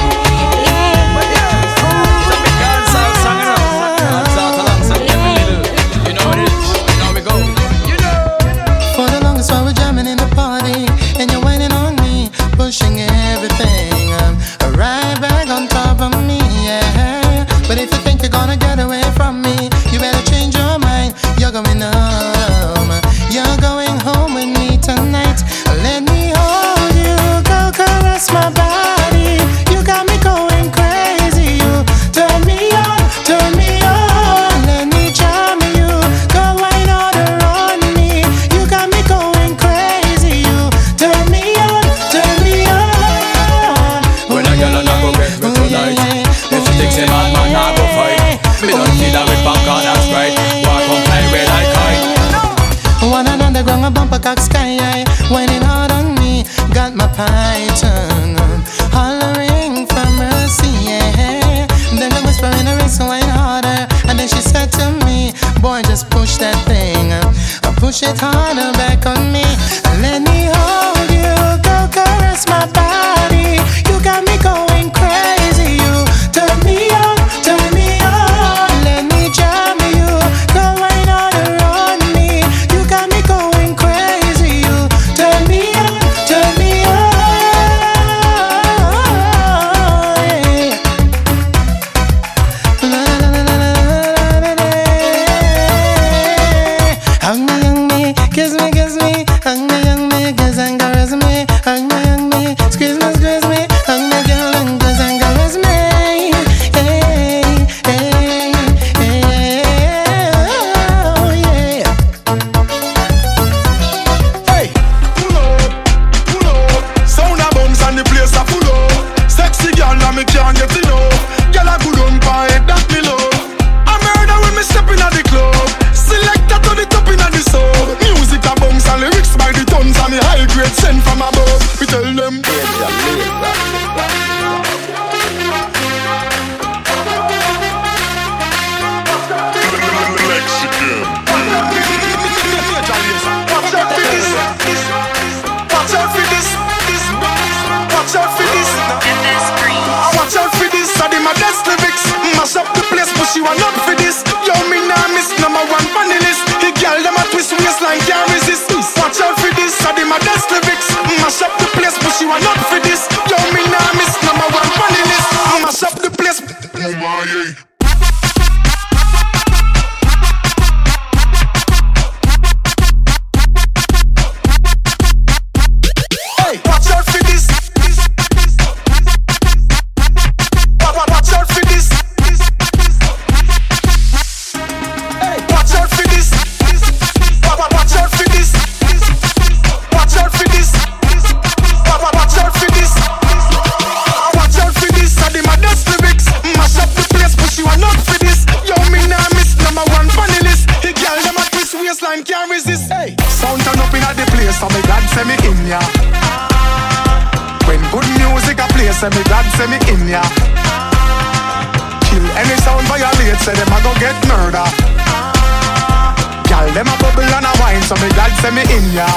For the longest while we're jamming in the party, and you're whining on me, pushing everything um, right back on top of me, yeah. But if you think you're gonna get away from me, you better change your mind. You're going home, you're going home with me tonight. Let me hold you, go caress my body. You got me going crazy. You turn me on, turn me on. Let me charm you, go wine all around me. You got me going crazy. You turn me on, turn me on. When a girl a go get me tonight, if she thinks a man man a go fight, me don't see that with popcorn and Sprite. Walk on fly red like kite. One and underground a bumper cock sky high, whining hard on me. Got my python hollering for mercy, yeah. Then the whisper in her ear, so wine harder. And then she said to me, boy, just push that thing, uh, push it harder back on me. Let me hold you, go caress my body. You got me going crazy. You turn me on, turn me on. Let me jam you, go wine all around me. You got me going crazy. You turn me on, turn me on. Yeah. La, la, la, la, la, la, la, la. Hug me, hug me, kiss me, kiss me. Hug me, hug me, kiss and caress me. Hug me, hug me, squeeze me, squeeze me. Hug me, girl, and kiss and caress me. Hey, hey, hey, oh yeah. Hey, pull up, pull up. Sound a bombs and the place a full up. Sexy girl and me can't get enough. Girl a good on by head that me love. I murder when me step in at the club. Selector to the top in at the sub. Music a bombs and lyrics by the tons and the high grade sent from above. We tell them. Watch out for this, this. Watch out for this, this. Watch out for this. Watch out for this. I did my best lyrics. Mash up the place, but she want up for this. Yo, me nah miss number one funny list. The girl them a twist waistline can't resist. Watch out for this. I did my best lyrics. Mash up the place, but she want up for this. Yo, me nah miss number one funny list. Mash up the place. Oh my yeah. Watch out for this. Watch out for this. Watch out for this. Watch out for this. Watch out for this. Watch out for this. Watch out for this. I did my best lyrics. Mash up the place, push you you say me God say me in ya. Kill any sound violate, say them a go get murder. Gal them a bubble and a wine, so me God say me in ya.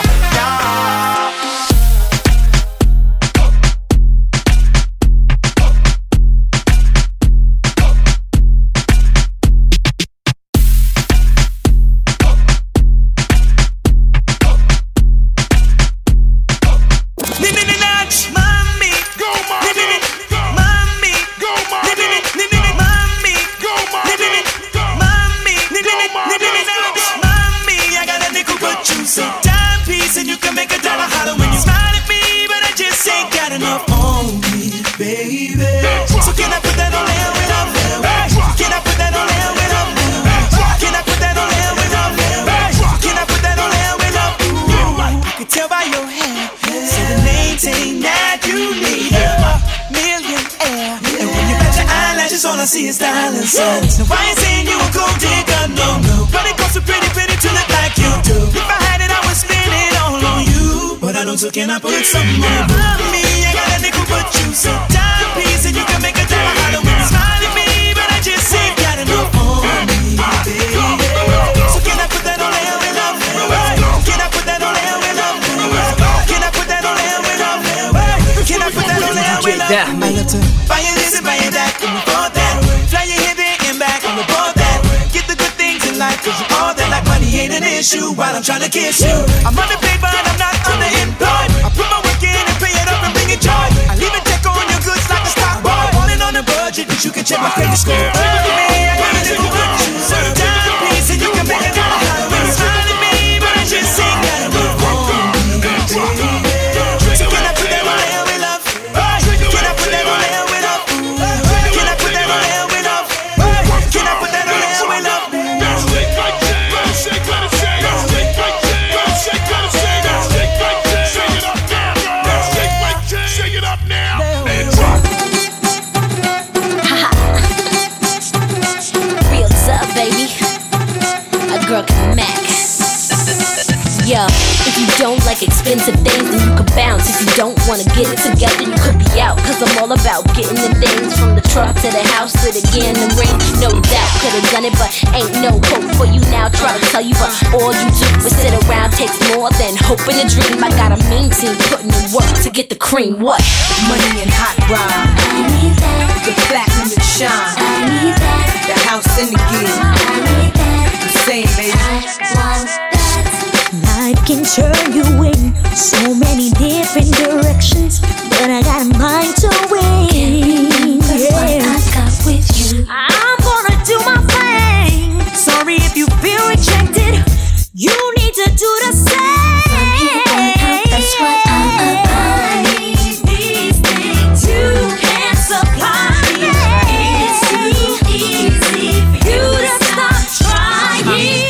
All I see is diamonds. Now I ain't saying you a gold digger, no, no. But it costs so pretty, pretty to look like you do. If I had it, I would spend it all on you. But I don't, so can I put some more on me? I got a nickel, but you so timepiece, and you can make a dollar hollow when you smile at me. But I just ain't got enough on me, baby. So can I put that on there with love? Can I put that on there with love? Can I put that on there with love? Can I put that on there with love? Buy you this and buy you that. An issue while I'm trying to kiss you. I'm underpaid but I'm not underemployed. I put my work in and pay it up and bring it joy. I leave a check on your goods like a stock boy. On and on a budget, but you can check my credit score. Look at me, I got a little good juice. So timepiece and you can make a dollar hollow when you smile at me, but I just ain't got a move on me. So can I put that on there with love? Can I put that on there with love? Can I put that on there with love? Can I put that on there with love? Yo, if you don't like expensive things, then you could bounce. If you don't wanna get it together, you could be out. Cause I'm all about getting the things. From the truck to the house to the gear and the ring. No doubt, could've done it, but ain't no hope for you now. Try to tell you, but all you do is sit around. Takes more than hope and a dream. I got a mean team putting in work to get the cream. What? Money and hot rod. I need that. The platinum and shine. I need that. The house and the gear. I need that. The same, baby. I want that. Life can turn you in so many different directions, but I got a mind to win. Yeah. I got with you. I'm gonna do my thing. Sorry if you feel rejected. You need to do the same. From here on out, that's what I'm about. I need these things you can't supply. It's too easy for you to stop trying.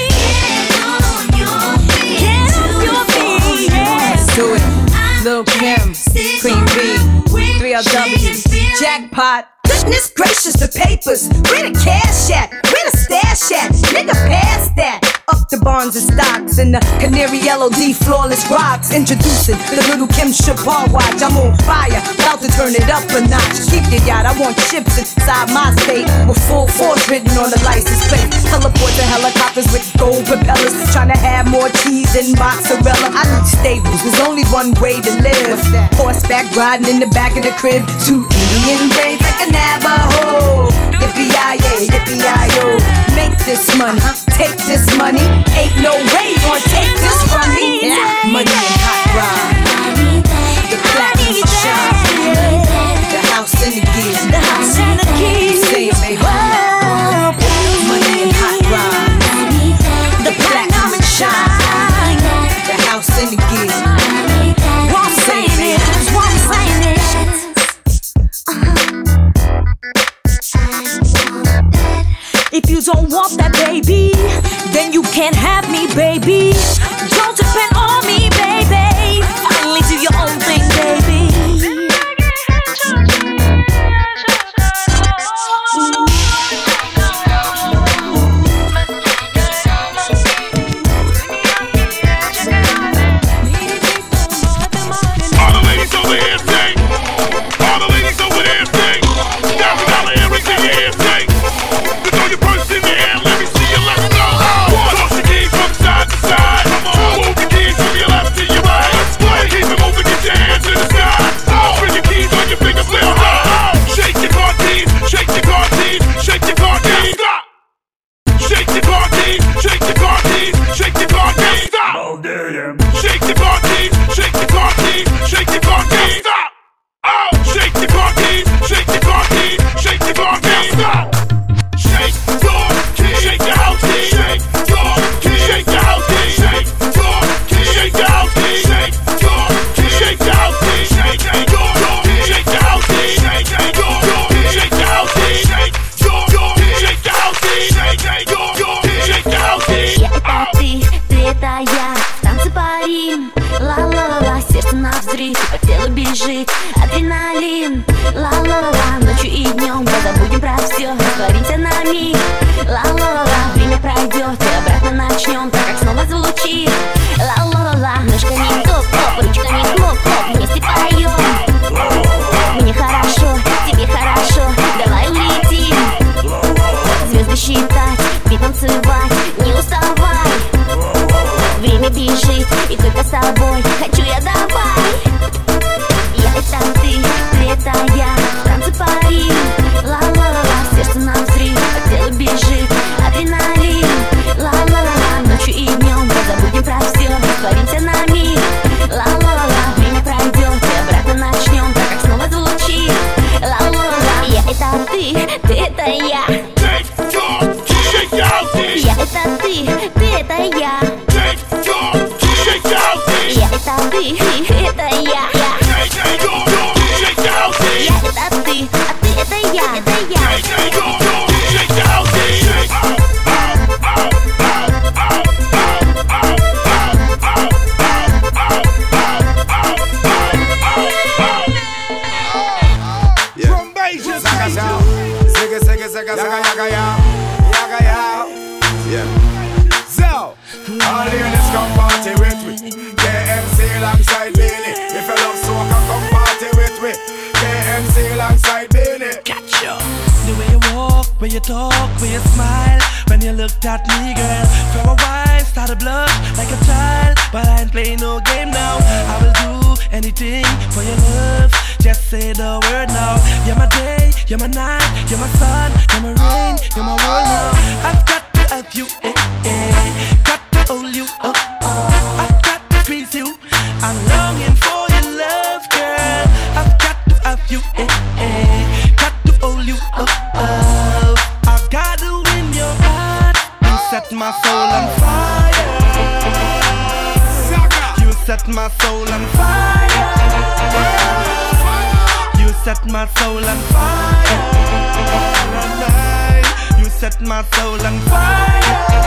Do it, Lil Kim, Queen B, three L W, Jackpot. Goodness gracious, the papers. Where the cash at? Where the stash at? Nigga, pass that. Up the bonds and stocks and the canary yellow D flawless rocks. Introducing the Little Kim Chapar watch. I'm on fire, about to turn it up a notch. Keep your yacht, I want chips inside my state with full force written on the license plate. Teleport to helicopters with gold propellers. Trying to have more cheese than mozzarella. I need stables, there's only one way to live. Horseback riding in the back of the crib. Two Indian braids like a Navajo. Yippee-yi-yay, yippee-yi-yo. Make this money, take this money. Ain't no way you gon' take this from me. Yeah. Money and hot rod. The platinum shine. The house and the gear. The house and the keys. Say it, baby. Money and hot rod. The platinum shine. The house and the gear. One saying it, one saying it. If you don't want that, baby, then you can't have me, baby. Don't depend on me, baby. Finally do your own thing, baby. All the ladies over here say, all the ladies адреналин. Ла-ла-ла, ночью и днем мы забудем про все, растворимся на миг. Ла-ла-ла, время пройдет и обратно начнем, так как снова звучит. Ла-ла-ла, ножками топ-топ, ручками хлоп-хлоп, вместе поем. Мне хорошо, тебе хорошо, давай улетим. Звезды считать, бит танцевать, не уставай. Время бежит, и только с тобой хочу я, давай. Я это ты, ты это я, танцы пари. Ла-ла-ла, сердце на взрыв, по телу бежит адреналин. Ла-ла-ла, ночью и днем мы забудем про все, растворимся на миг. Ла-ла-ла, время пройдет и обратно начнем, так как снова звучит. Ла-ла-ла, я это ты, ты это я. Я это ты, ты это я. Я это ты, это я. Я это ты, а ты это я, это я. Zigga, zigga, zigga, zigga, yaga, yaga, yaga, yaga. Yeah. So, all the ladies come party with me. K M C alongside Billy. If you love soca, come party with me. K M C alongside Billy. Catch ya. The way you walk, way you talk, way you smile. When you looked at me, girl, for a while started blush like a child. But I ain't playing no game now. I will do anything for your love. Just say the word now. You're my day, you're my night, you're my sun, you're my rain, you're my world now. I've got to have you, eh, eh. Got to hold you, oh, oh. I've got to squeeze you. I'm longing for your love, girl. I've got to have you, eh, eh. Got to hold you, oh, oh. I've got to win your heart. You set my soul on fire. You set my soul on fire. You set my soul on fire. You set my soul on fire.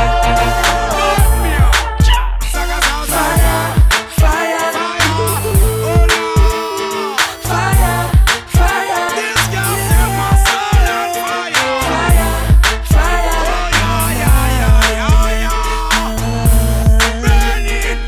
Fire, fire, fire, fire. This girl set my soul on fire. Fire, fire, burning,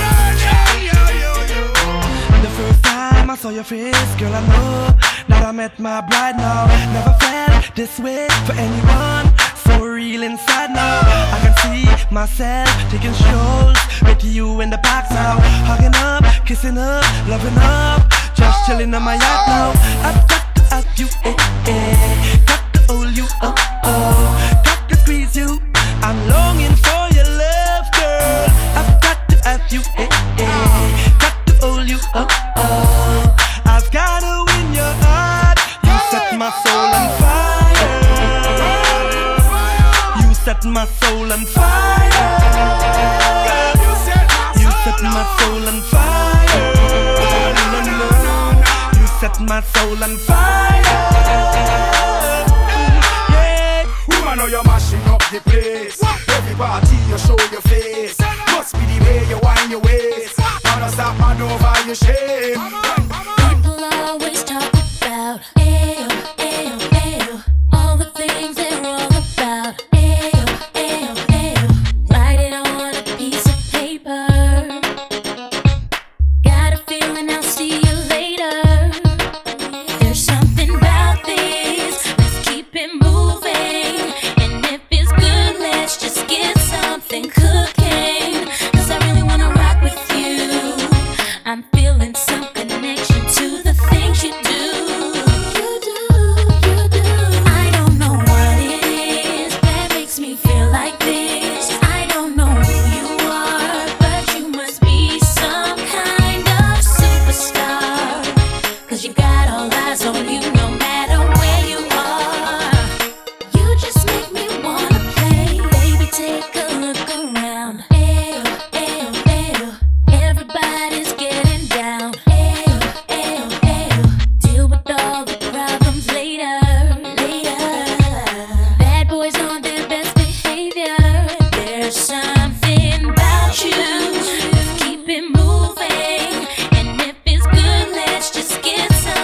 burning. The first time I saw your face, girl, I know that I met my bride now. Never felt this way for anyone. So real inside now. I can see myself taking strolls with you in the park now. Hugging up, kissing up, loving up, just chilling on my yacht now. I've got to have you, eh, eh. Got to hold you, oh, oh. Got to squeeze you. I'm longing for your love, girl. I've got to have you, eh, eh. Got to hold you, oh, oh. I've got to win your heart. You set my soul on fire. You set my soul on fire. You set my soul on fire. No, no, no. You set my soul on fire. Yeah. Woman, know you're mashing up the place. Every party you show your face. Must be the way you wind your waist. Wanna stop man over your shame. People always talk about ayo, ayo, ayo, all the things they're wrong about. Ayo, ayo, ayo, write it on a piece of paper. Got a feeling I'll see you later. There's something about this, let's keep it moving. And if it's good, let's just get something cooking. Cause I really wanna rock with you. I'm feeling some connection.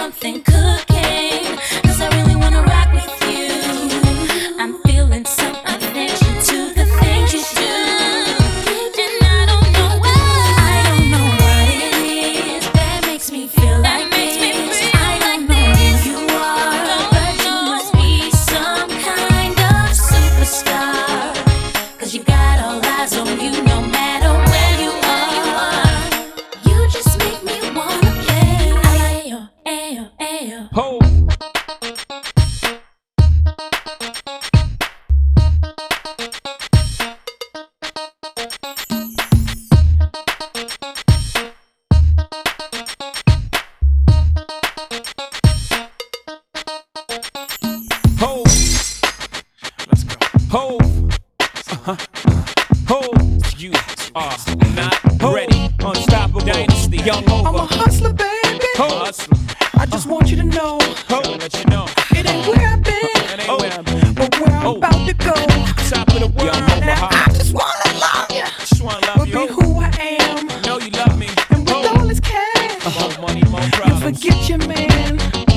something cooking, 'cause I really wanna rock with you. I'm feeling some attention to the things you do, and I don't know why. I don't know what it is that makes me feel like this. I don't know who you are, but you must be some kind of superstar, 'cause you got all eyes on you no matter where you are. You just make me wanna play. Ayo, ayo, ayo. Ho. Ho. Let's go. Ho. Uh-huh. Ho. You are not ready. Unstoppable dynasty. Young over. I'm a hustler, baby. Ho. Hustler. I just want you to know. Ho. Let you know. It ain't where I've been, It ain't where I've been. but where I'm Oh. about to go. Top of the world. Now I just wanna love you, Just wanna love but you. be who I am. Know you love me. And with all this cash, More money, more you problems. forget your man.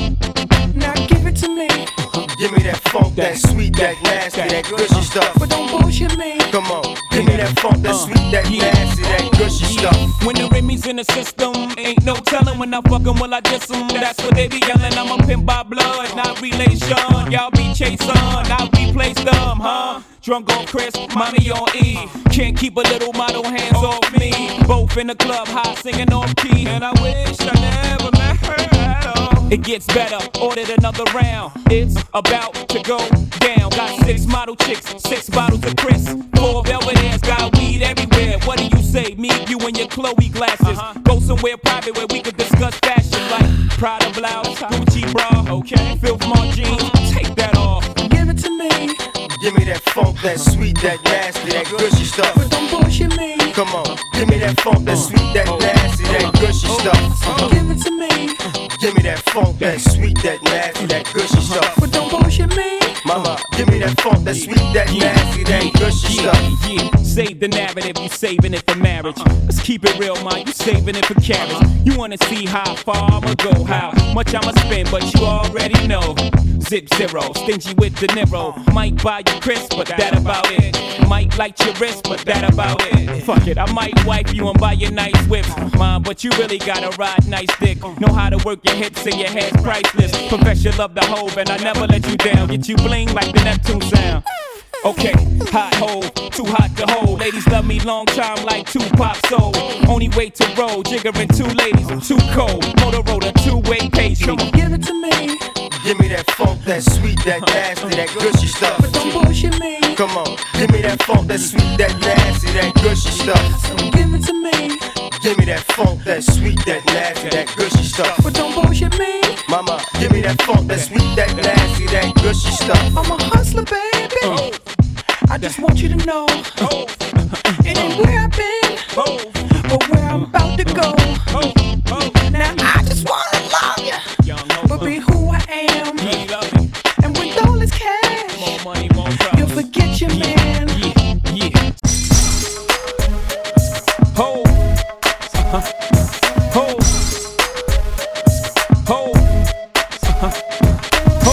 Now give it to me, Give me that funk, that sweet, that nasty, that gushy stuff. but don't bullshit me. Come on, give me that funk, that sweet, that nasty, that gushy stuff. When the Remy's in the system, ain't no telling when I fuck 'em, will I diss 'em? That's what they be yelling. I'm a pimp by blood, not relation. Y'all be chasing, I replace them, huh? Drunk on Chris, mommy on E. Can't keep a little model hands off me. Both in the club, high singing off key. And I wish I never met her at all. It gets better, ordered another round. It's about to go down. Got six model chicks, six bottles of Chris. Four Belvedere's, got weed everywhere. What do you say? Me, you, and your Chloe glasses. Go somewhere private where we could discuss fashion, like Prada blouse, Gucci bra, okay? Filth Mart jeans, take that off. Give it to me, Give me that funk, that sweet, that nasty, that gushy stuff. but don't bullshit me. Come on, give me that funk, that sweet, that nasty, that gushy stuff. Give it to me, Give me that funk, that sweet, that nasty, that gushy stuff. but don't bullshit me. Mama, give me that funk, that sweet, that nasty, that gushy stuff. Yeah, save the narrative, you saving it for marriage. Let's keep it real, man, you saving it for carriage. You wanna see how far I'ma go, how much I'ma spend, but you already know. Zip zero, stingy with De Niro. Might buy you crisp, but that about it. Might light your wrist, but that about it. Fuck it, I might wipe you and buy you nice whips, mom, but you really gotta ride nice dick. Know how to work your hips and your head's priceless. Profession love the hoe, and I never let you down. Get you bling like the Neptune sound. Okay, hot hole, too hot to hold. Ladies love me long time like Tupac soul. Only way to roll, jiggering two ladies, too cold. Motorola, two-way pastry. Give it to me, Give me that funk, that sweet, that nasty, that gushy stuff. but don't bullshit me. Come on, give me that funk, that sweet, that nasty, that gushy stuff. Give it to me, Give me that funk, that sweet, that nasty, that gushy stuff. but don't bullshit me. Mama, give me that funk, that sweet, that nasty, that gushy stuff. I'm a hustler, baby. I just want you to know. It ain't where I've been, but where I'm about to go. Now I just wanna love you, but be who I am. And with all this cash, you'll forget your man. Ho. Uh-huh. Ho. Ho. Uh-huh. Ho.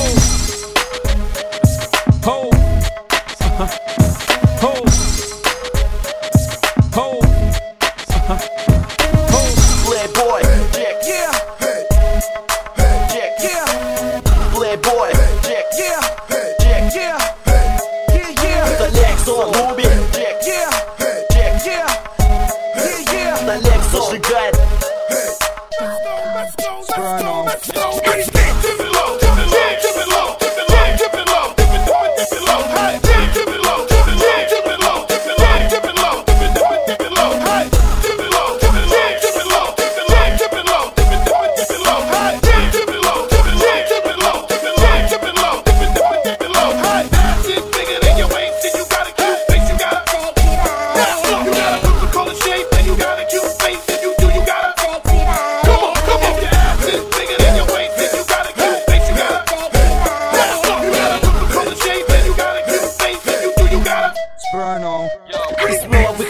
Ho. Uh-huh. Ho. Ho. Uh-huh. Ho. Playboy, Jack, Yeah, Jack, yeah, Playboy, Jack, yeah, Jack, yeah, yeah, yeah, the legs on Ruby, Jack, yeah, Jack, yeah, yeah, yeah. the legs зажигает.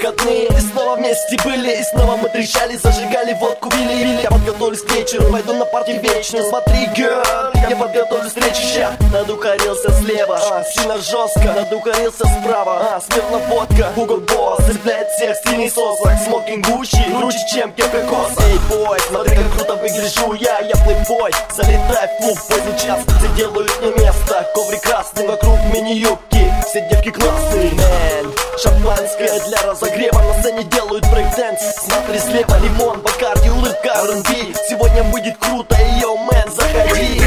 вместе были, и снова мы трещали, зажигали водку, пили, пили. Я подготовлюсь к вечеру, пойду на парти вечный. Смотри, girl, я подготовлю встречу ща. Надухарился слева, а, сильно жестко. Надухарился справа, а, смирно водка. Hugo Boss цепляет всех, стильный сослак. Смокинг Гуччи, круче, чем кепка Коса. Эй, бой, смотри, как круто выгляжу я. Я плейбой, залетай в клуб в поздний час. Все делают мне место, коврик красный. Вокруг мини-юбки, все девки классные. Man, шампанское для разогрева. На сцене делают брейк-дэнс. Смотри слева, лимон, Бакарди, улыбка, ар энд би. Сегодня будет круто, йоу, мэн, заходи.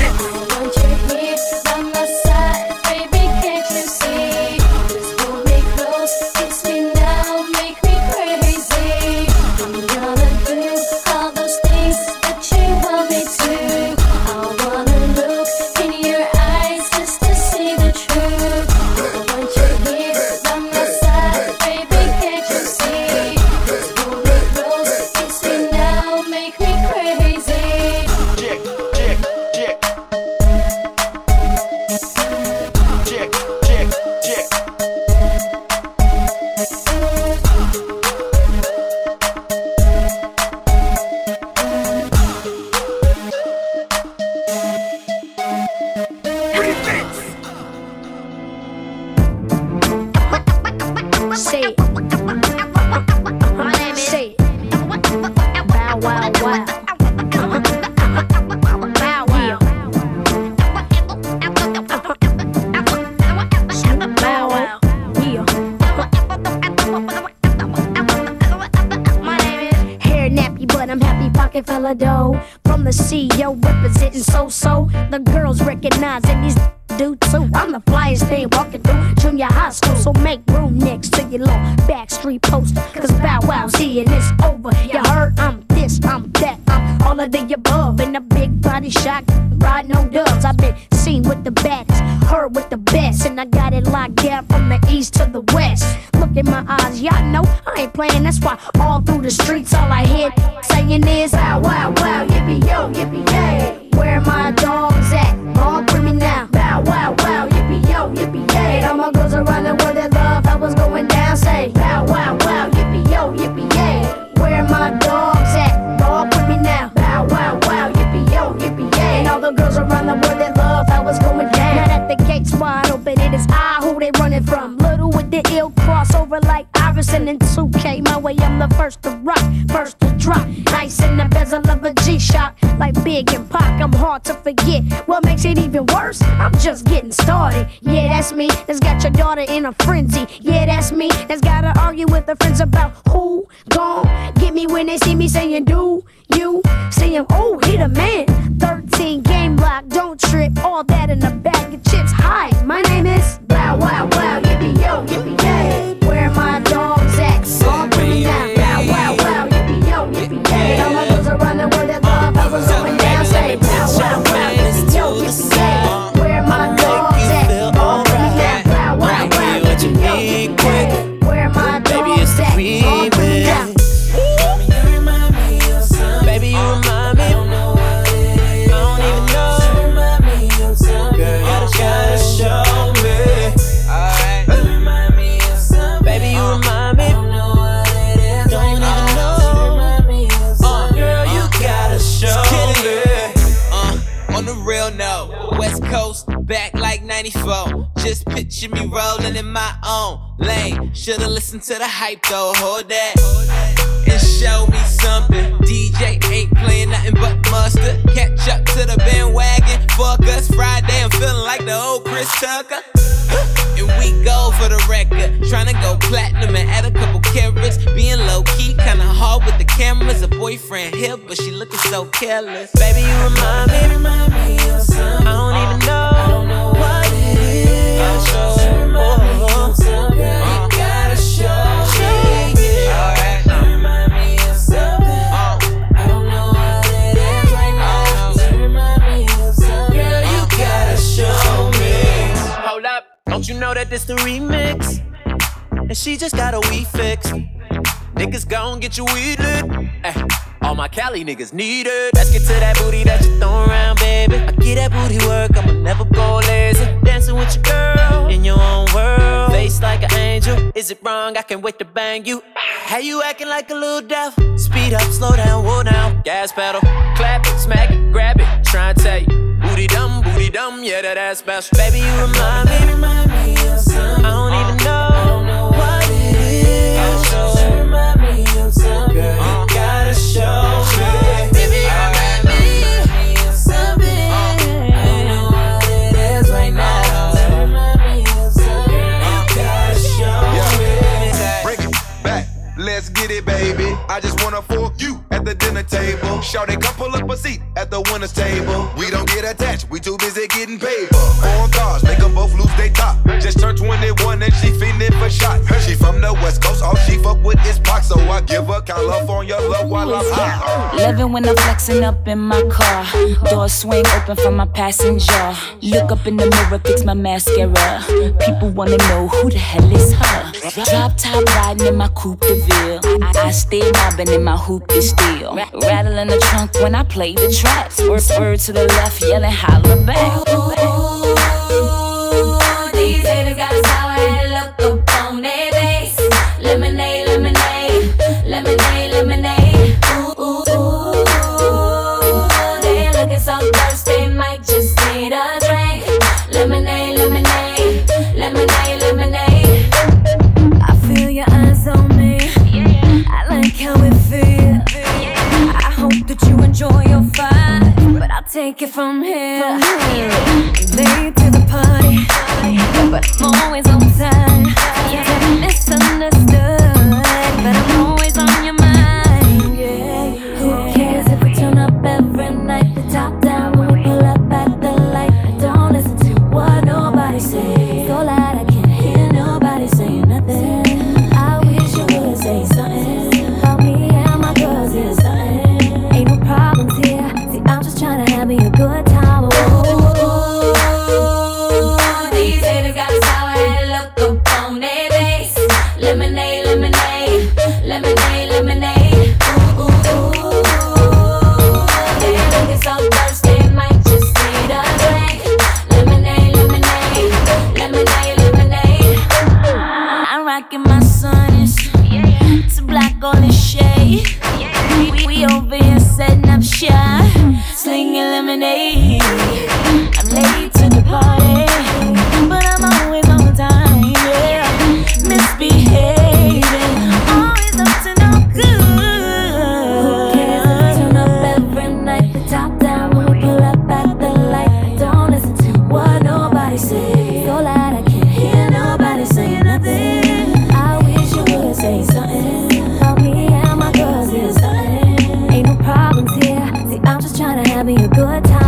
From the C E O representing so-so. The girls recognize and these do too. I'm the flyest thing walking through junior high school. So make room next to your little backstreet poster. Cause Bow Wow's here and it's over. You heard I'm this, I'm that, I'm all of the above. In a big body shot, riding on dubs. I've been seen with the baddest, heard with the best. And I got it locked down from the east to the west. Look in my eyes, y'all know I ain't playing. That's why all through the streets all I hear saying is Bow Wow Wow, yippee yo, yippee yay. Where my dogs at? All with me now. Bow Wow Wow, yippee yo, yippee yay. All my girls around the world that love how was going down. Say Bow Wow Wow, yippee yo, yippee yay. Where my dogs at? All with me now. Bow Wow Wow, yippee yo, yippee yay. And all the girls around the world that love how was going down. Now that the gates wide open, it is I who they running from. Little with the ill crossover like Iverson and two K. My way, I'm the first to rock, first to drop. Nice in the bezel of a G-Shock, like Big and Pac. I'm hard to forget. What makes it even worse? I'm just getting started. Yeah, that's me. That's got your daughter in a frenzy. Yeah, that's me. That's gotta argue with her friends about who gon' get me when they see me saying, do you see him? Oh, he the man. thirteen game lock, don't trip. All that in a bag of chips. Hi, my name is Bow Wow Wow, yippee yo, yippee yay. Where my dogs at? All with me now. Bow Wow Wow, yippee yo, yippee yay. All my girls around the world that love how was going down. Say Bow Wow Wow, yippee yo, yippee yay. Where my dogs at? All with me now. Bow Wow Wow, yippee yo, yippee yay. Where my dogs at? All with me now. Baby, you remind me. I don't know what it is. I don't even know. You remind me of something. Girl, you gotta show me. Alright. You remind me of something. Baby, you remind me. I don't know what it is. Don't even know. You remind me of something. Girl, you gotta show me. Uh, on the real note, West Coast, back like ninety-four. Just picture me rolling in my own lane. Should've listened to the hype though, hold that. And show me something. D J ain't playing nothing but mustard. Catch up to the bandwagon. Fuck us Friday, I'm feeling like the old Chris Tucker. And we go for the record. Tryna go platinum and add a couple carats. Being low key, kinda hard with the cameras. A boyfriend here, but she looking so careless. Baby, you remind me, remind me of something. I don't even know, I don't know what it is. Oh, you remind me of something. Girl, you gotta show me. Alright. You remind me of something. I don't know what it is right now. You remind me of something. Girl, you gotta show me. Hold up. Don't you know that this the remix? And she just got a weed fix. Niggas gon' get your weed lit. Ay, all my Cali niggas need it. Let's get to that booty that you throwin' around, baby. I get that booty work, I'ma never go lazy. Dancing with your girl in your own world. Face like an angel. Is it wrong? I can't wait to bang you. How you acting like a little devil? Speed up, slow down, whoa down. Gas pedal, clap it, smack it, grab it. tryna tell you. Booty dumb, booty dumb, yeah, that ass special. Baby, you remind me, remind me of something. I don't even know, I don't know what it is. You remind me of something. Girl, you gotta show me. Baby, you remind me of something. I don't know what it is right now. You remind me of something. You gotta show me. Bring it back, let's get it, baby. I just wanna fork you at the dinner table. Shawty, come pull up a seat at the winner's table. We don't get attached, we too busy getting paper. Foreign cars, make them both lose they top. Just turned twenty-one and she feeling for shots. She from the West Coast, all she fuck with is Pac. So I give her California love while I'm high. Loving when I'm flexing up in my car. Door swing open for my passenger. Look up in the mirror, fix my mascara. People wanna know who the hell is her. Drop top riding in my coupe de ville. I, I stay mobbing in my hoop de steel. Rattling the trunk when I play the tracks. Word, word to the left, yelling holler back. These haters got a sour head look up on their face. Lemonade, lemonade, lemonade, lemonade. Ooh, ooh, ooh. They looking so thirsty, might just need a drink. Lemonade, lemonade, lemonade, lemonade. I feel your eyes on me. I like how it feels. I hope that you enjoy your vibe, but I'll take it from here. Late to the party, but I'm always on time. Yeah, misunderstood, but I'm always on your mind. Yeah. Who cares if we turn up every night? The top down when we pull up at the light. I don't listen to what nobody says. So loud I can't hear nobody saying nothing. I wish you would say something about me and my girls is something. Ain't no problems here. See, I'm just trying to have me a good time. These haters got a sour head look up on their face. Lemonade, lemonade, lemonade, lemonade. Ooh, ooh, ooh. They looking so thirsty, might just need a drink. Lemonade, lemonade, lemonade, lemonade. I'm rocking my Sonics. It's a black golden shade. We, we, we over here setting up shop, slinging lemonade. I'm late to the party, but I'm always on time. Yeah, misbehaving, always up to no good. Who cares if we turn up every night? The top down when we pull up at the light. I don't listen to what nobody says. So loud I can't hear nobody saying nothing. I wish you would say something about me and my girls is something. Ain't no problems here. See, I'm just trying to have me a good time.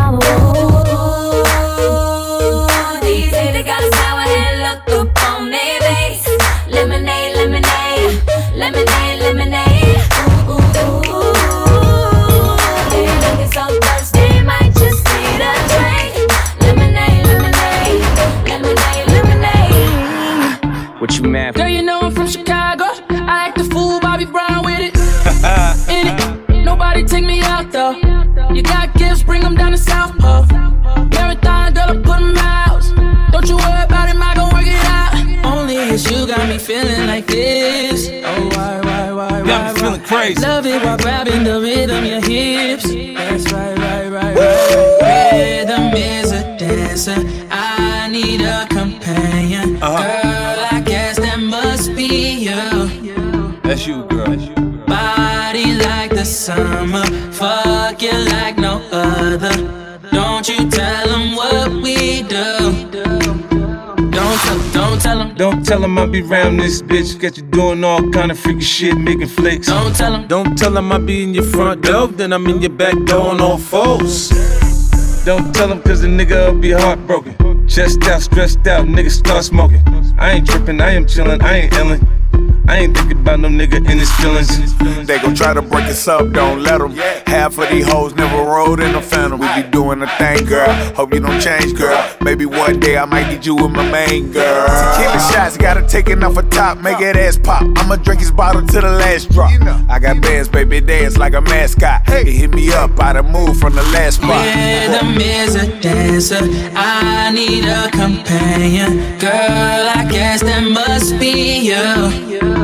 These haters got a sour head look up on their face. Lemonade, lemonade, lemonade, lemonade. Ooh, ooh, ooh. They looking so thirsty, might just need a drink. Lemonade, lemonade, lemonade, lemonade. What you mad for? Girl, you know I'm from Chicago. I act the fool, Bobby Brown with it. In it, nobody take me out though. You got gifts, bring them down to South Pole. Marathon, girl, I put them out. Don't you worry about it, I gon' work it out. Only it's you got me feeling like this. Oh, why, why, why, why, got me feeling crazy. Love it while grabbing the rhythm, your hips. That's right, right, right, right. Rhythm is a dancer. I need a companion. Uh-huh. Girl, I guess that must be you. That's you, girl. That's you. Body like the summer, fuck you like no other. Don't you tell them what we do. Don't tell them, don't tell them. Don't tell them I be round this bitch. Got you doing all kind of freaky shit, making flicks. Don't tell them. Don't tell them I be in your front door, then I'm in your back door on all fours. Don't tell them cause the nigga will be heartbroken. Chest out, stressed out, nigga start smoking. I ain't tripping, I am chillin', I ain't illin'. I ain't thinking about no nigga in his feelings. They gon' try to break us up, don't let them. Half of these hoes never rode in a phantom. We be doing a thing, girl. Hope you don't change, girl. Maybe one day I might need you with my main girl. Tequila shots, gotta take it off a top, make that ass pop. I'ma drink his bottle to the last drop. I got bands, baby, dance like a mascot. He hit me up, I done moved from the last spot. Rhythm is a dancer, I need a companion. Girl, I guess that must be you.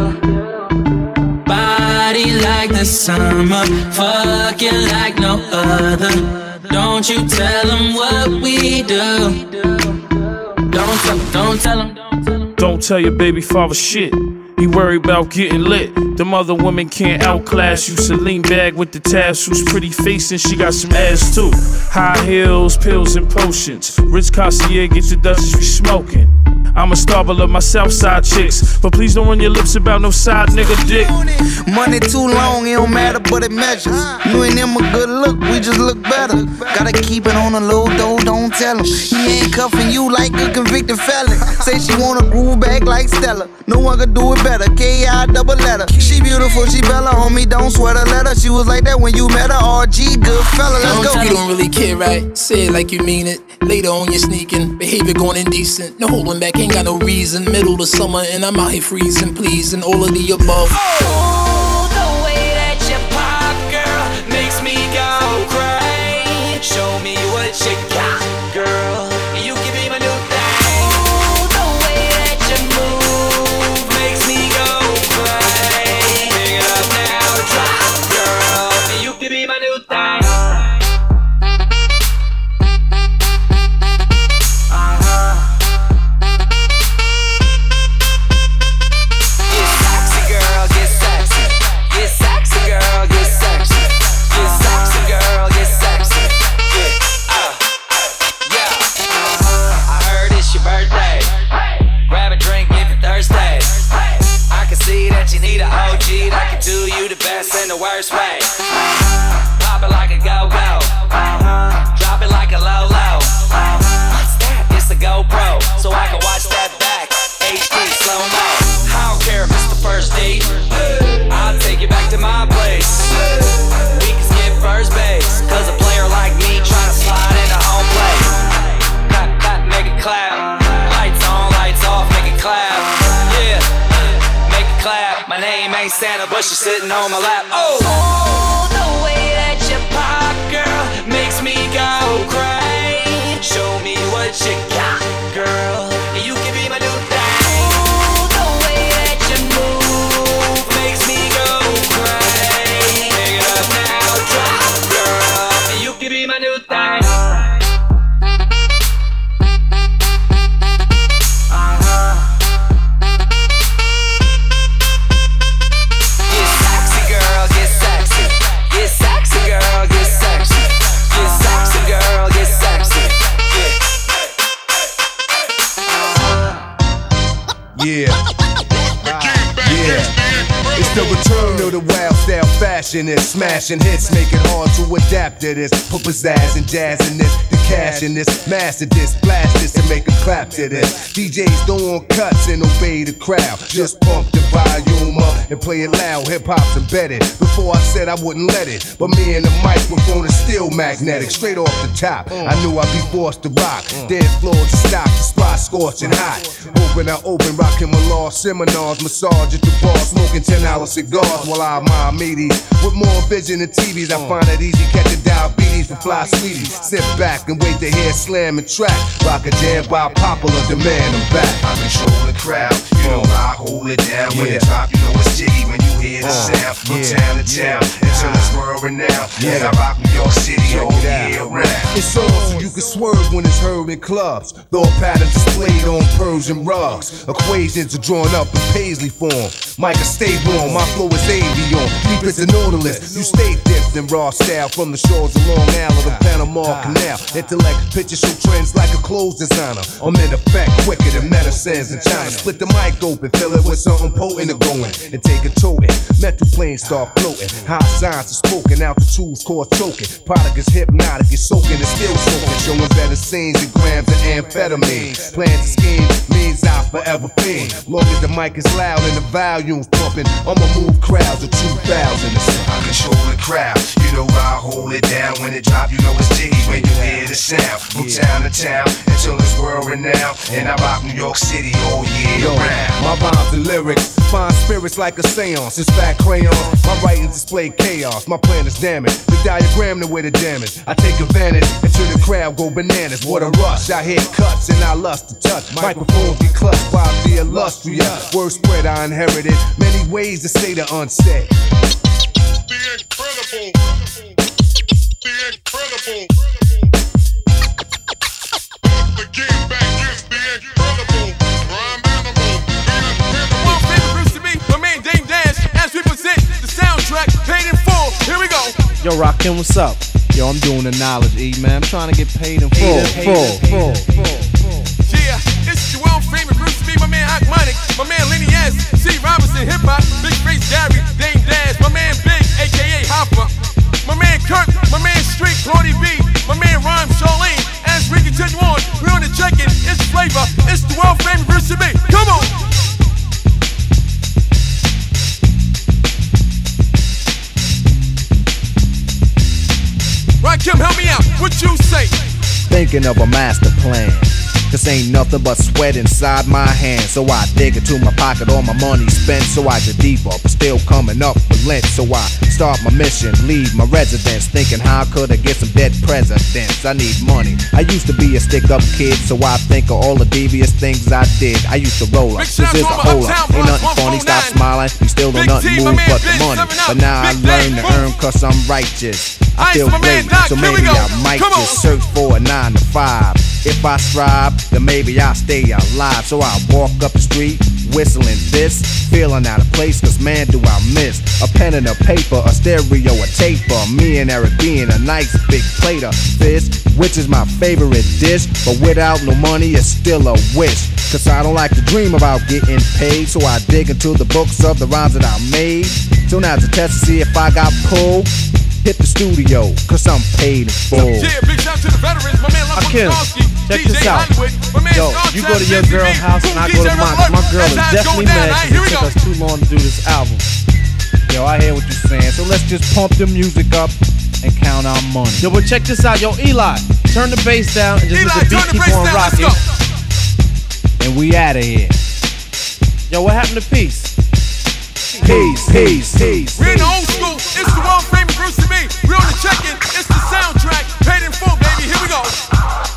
Body like the summer, fucking like no other. Don't you tell them what we do. Don't tell them, don't tell them. Don't tell your baby father shit. He worried about getting lit. Them other women can't outclass you. Celine bag with the tassels, pretty face and she got some ass too. High heels, pills and potions. Rich Cartier gets the Dutchess we smoking. I'm a star, but love my Southside chicks. But please don't run your lips about no side nigga dick. Money too long, it don't matter, but it measures. You and them a good look, we just look better. Gotta keep it on the low, though, don't tell him. He ain't cuffing you like a convicted felon. Say she wanna groove back like Stella. No one could do it better, K I double letter. She beautiful, she Bella, homie, don't sweat her letter. She was like that when you met her, R G, good fella, let's go. You don't really care, right? Say it like you mean it. Later on you're sneaking, behavior going indecent. No holding back, ain't got no reason. Middle of summer and I'm out here freezing, pleasing all of the above. Oh, the way that you pop, girl, makes me go crazy. Show me what you got, girl. You can be my new thing. Oh, the way that you move makes me go crazy. Pick it up now, drop, girl. You can be my new thing. I can do you the best in the worst way. Pop it like a go-go. Drop it like a low-low. What's that? It's a GoPro, so I can watch that back. H D slow-mo. I don't care if it's the first date. I'll take you back to my place. We can skip first base, cause a player like me trying to slide into home plate. Clap, clap, make it clap. Lights on, lights off, make it clap. Yeah. Clap. My name ain't Santa, but she's sitting on my lap. Oh, oh the way that you pop, girl, makes me go crazy. Show me what you got, girl. You can be my new thing. Oh, the way that you move makes me go crazy. Pick it up now, drop, girl. You can be my new thing. Yeah, yeah. It's the return of the wild style fashionist, smashing hits, make it hard to adapt to this. Put pizzazz and jazz in this, the cash in this, master this, blast this and make a clap to this. D Js don't want cuts and obey the crowd. Just pump the volume up and play it loud. Hip hop's embedded. Before I said I wouldn't let it, but me and the microphone is still magnetic. Straight off the top, I knew I'd be forced to rock. Dance floor to stock, the spot scorching hot. Open, I open, rocking my law seminars, massage at the bar, smoking ten dollar cigars while I admire meaties. With more vision than T Vs, I find it easy catching diabetes for fly sweeties. Sit back and wait to hear slam and track. Rock a jam by popular demand, I'm back. I control the crowd, you know I hold it down. When it drop, you know it's jiggy when you hear the sound. From town to town, until it's world renowned. And I rock New York City all year round. It's on so you can swerve when it's heard in clubs. Thought patterns displayed on Persian rugs. Equations are drawn up in Paisley form. Micah, stay warm, my flow is avion. Deep as a Nautilus, you stay dipped in raw style. From the shores of Long Island to Panama Canal. Intellect, picture show trends like a clothes designer. I'm in effect, quicker than medicines in China. Split the mic open, fill it with something potent to go in. And take a toting, metal planes start floating. High signs are spoken, altitudes cause choking. Product is hypnotic, it's soaking, it's still soaking. Showing better scenes and grams of amphetamine. Plans and schemes means I forever fiend. Long as the mic is loud and the volume's pumping, I'ma move crowds of two thousand. I control the crowd, you know I hold it down. When it drop, you know it's jiggy when you hear the sound. From town to town, until it's world renowned. And I rock New York City all year round. My rhymes and lyrics find spirits like a seance. It's fat crayon, my writings display chaos. My plan is damaged, the diagram the way the damage. I take advantage until the crowd go bananas. What a rush, I hit cuts and I lust to touch. Microphones be clutched by the illustrious. Word spread I inherited, many ways to say the unsaid. The incredible, the incredible. The game back is the incredible. Rhyme animal. My favorite Bruce to me, my man Dame Dash, as we present the soundtrack paid in full. Here we go. Yo, Rakim, what's up? Yo, I'm doing the knowledge, E, man. I'm trying to get paid in full. Full, full, full. Yeah, this is your world famous Bruce to me, my man Akmonic, my man Lenny S, C. Robinson, Hip Hop, Big Face Gary, Dame Dash, my man Big, aka Hopper, my man Kirk, my man Street, Claudie B, my man Rhyme, Charlene. As we continue on, we're on the check-in. It's Flavor. It's the world famous Bruce to me. Come on. Right, Kim, help me out. What you say? Thinking of a master plan. Cause ain't nothing but sweat inside my hands. So I dig into my pocket, all my money spent. So I get deeper, but still coming up with lint. So I start my mission, leave my residence, thinking how could I get some dead presidents. I need money. I used to be a stick-up kid, so I think of all the devious things I did. I used to roll up, this is a hole up. Ain't nothing funny, stop smiling. You still don't nothing move but the money. But now I learn to earn cause I'm righteous. I feel great, so maybe I might just search for a nine to five. If I strive, then maybe I'll stay alive. So I walk up the street, whistling this, feeling out of place, cause man do I miss a pen and a paper, a stereo, a taper. Me and Eric being a nice big plate of fish, which is my favorite dish. But without no money, it's still a wish. Cause I don't like to dream about getting paid. So I dig into the books of the rhymes that I made. So now to test to see if I got pulled, hit the studio, cause I'm paid in full. Yeah, big shout to the veterans, my man Akim, check this out. Yo, you go to your girl house and I go to mine. My girl is definitely mad because it took us too long to do this album. Yo, I hear what you're saying, so let's just pump the music up and count our money. Yo, but check this out. Yo, Eli, turn the bass down and just let the beat keep on rocking. And we out of here. Yo, what happened to peace? Peace, peace, peace. We're in the old school. It's the world famous Bruce to me. We're on the check-in. It's the soundtrack. Paid in full, baby. Here we go.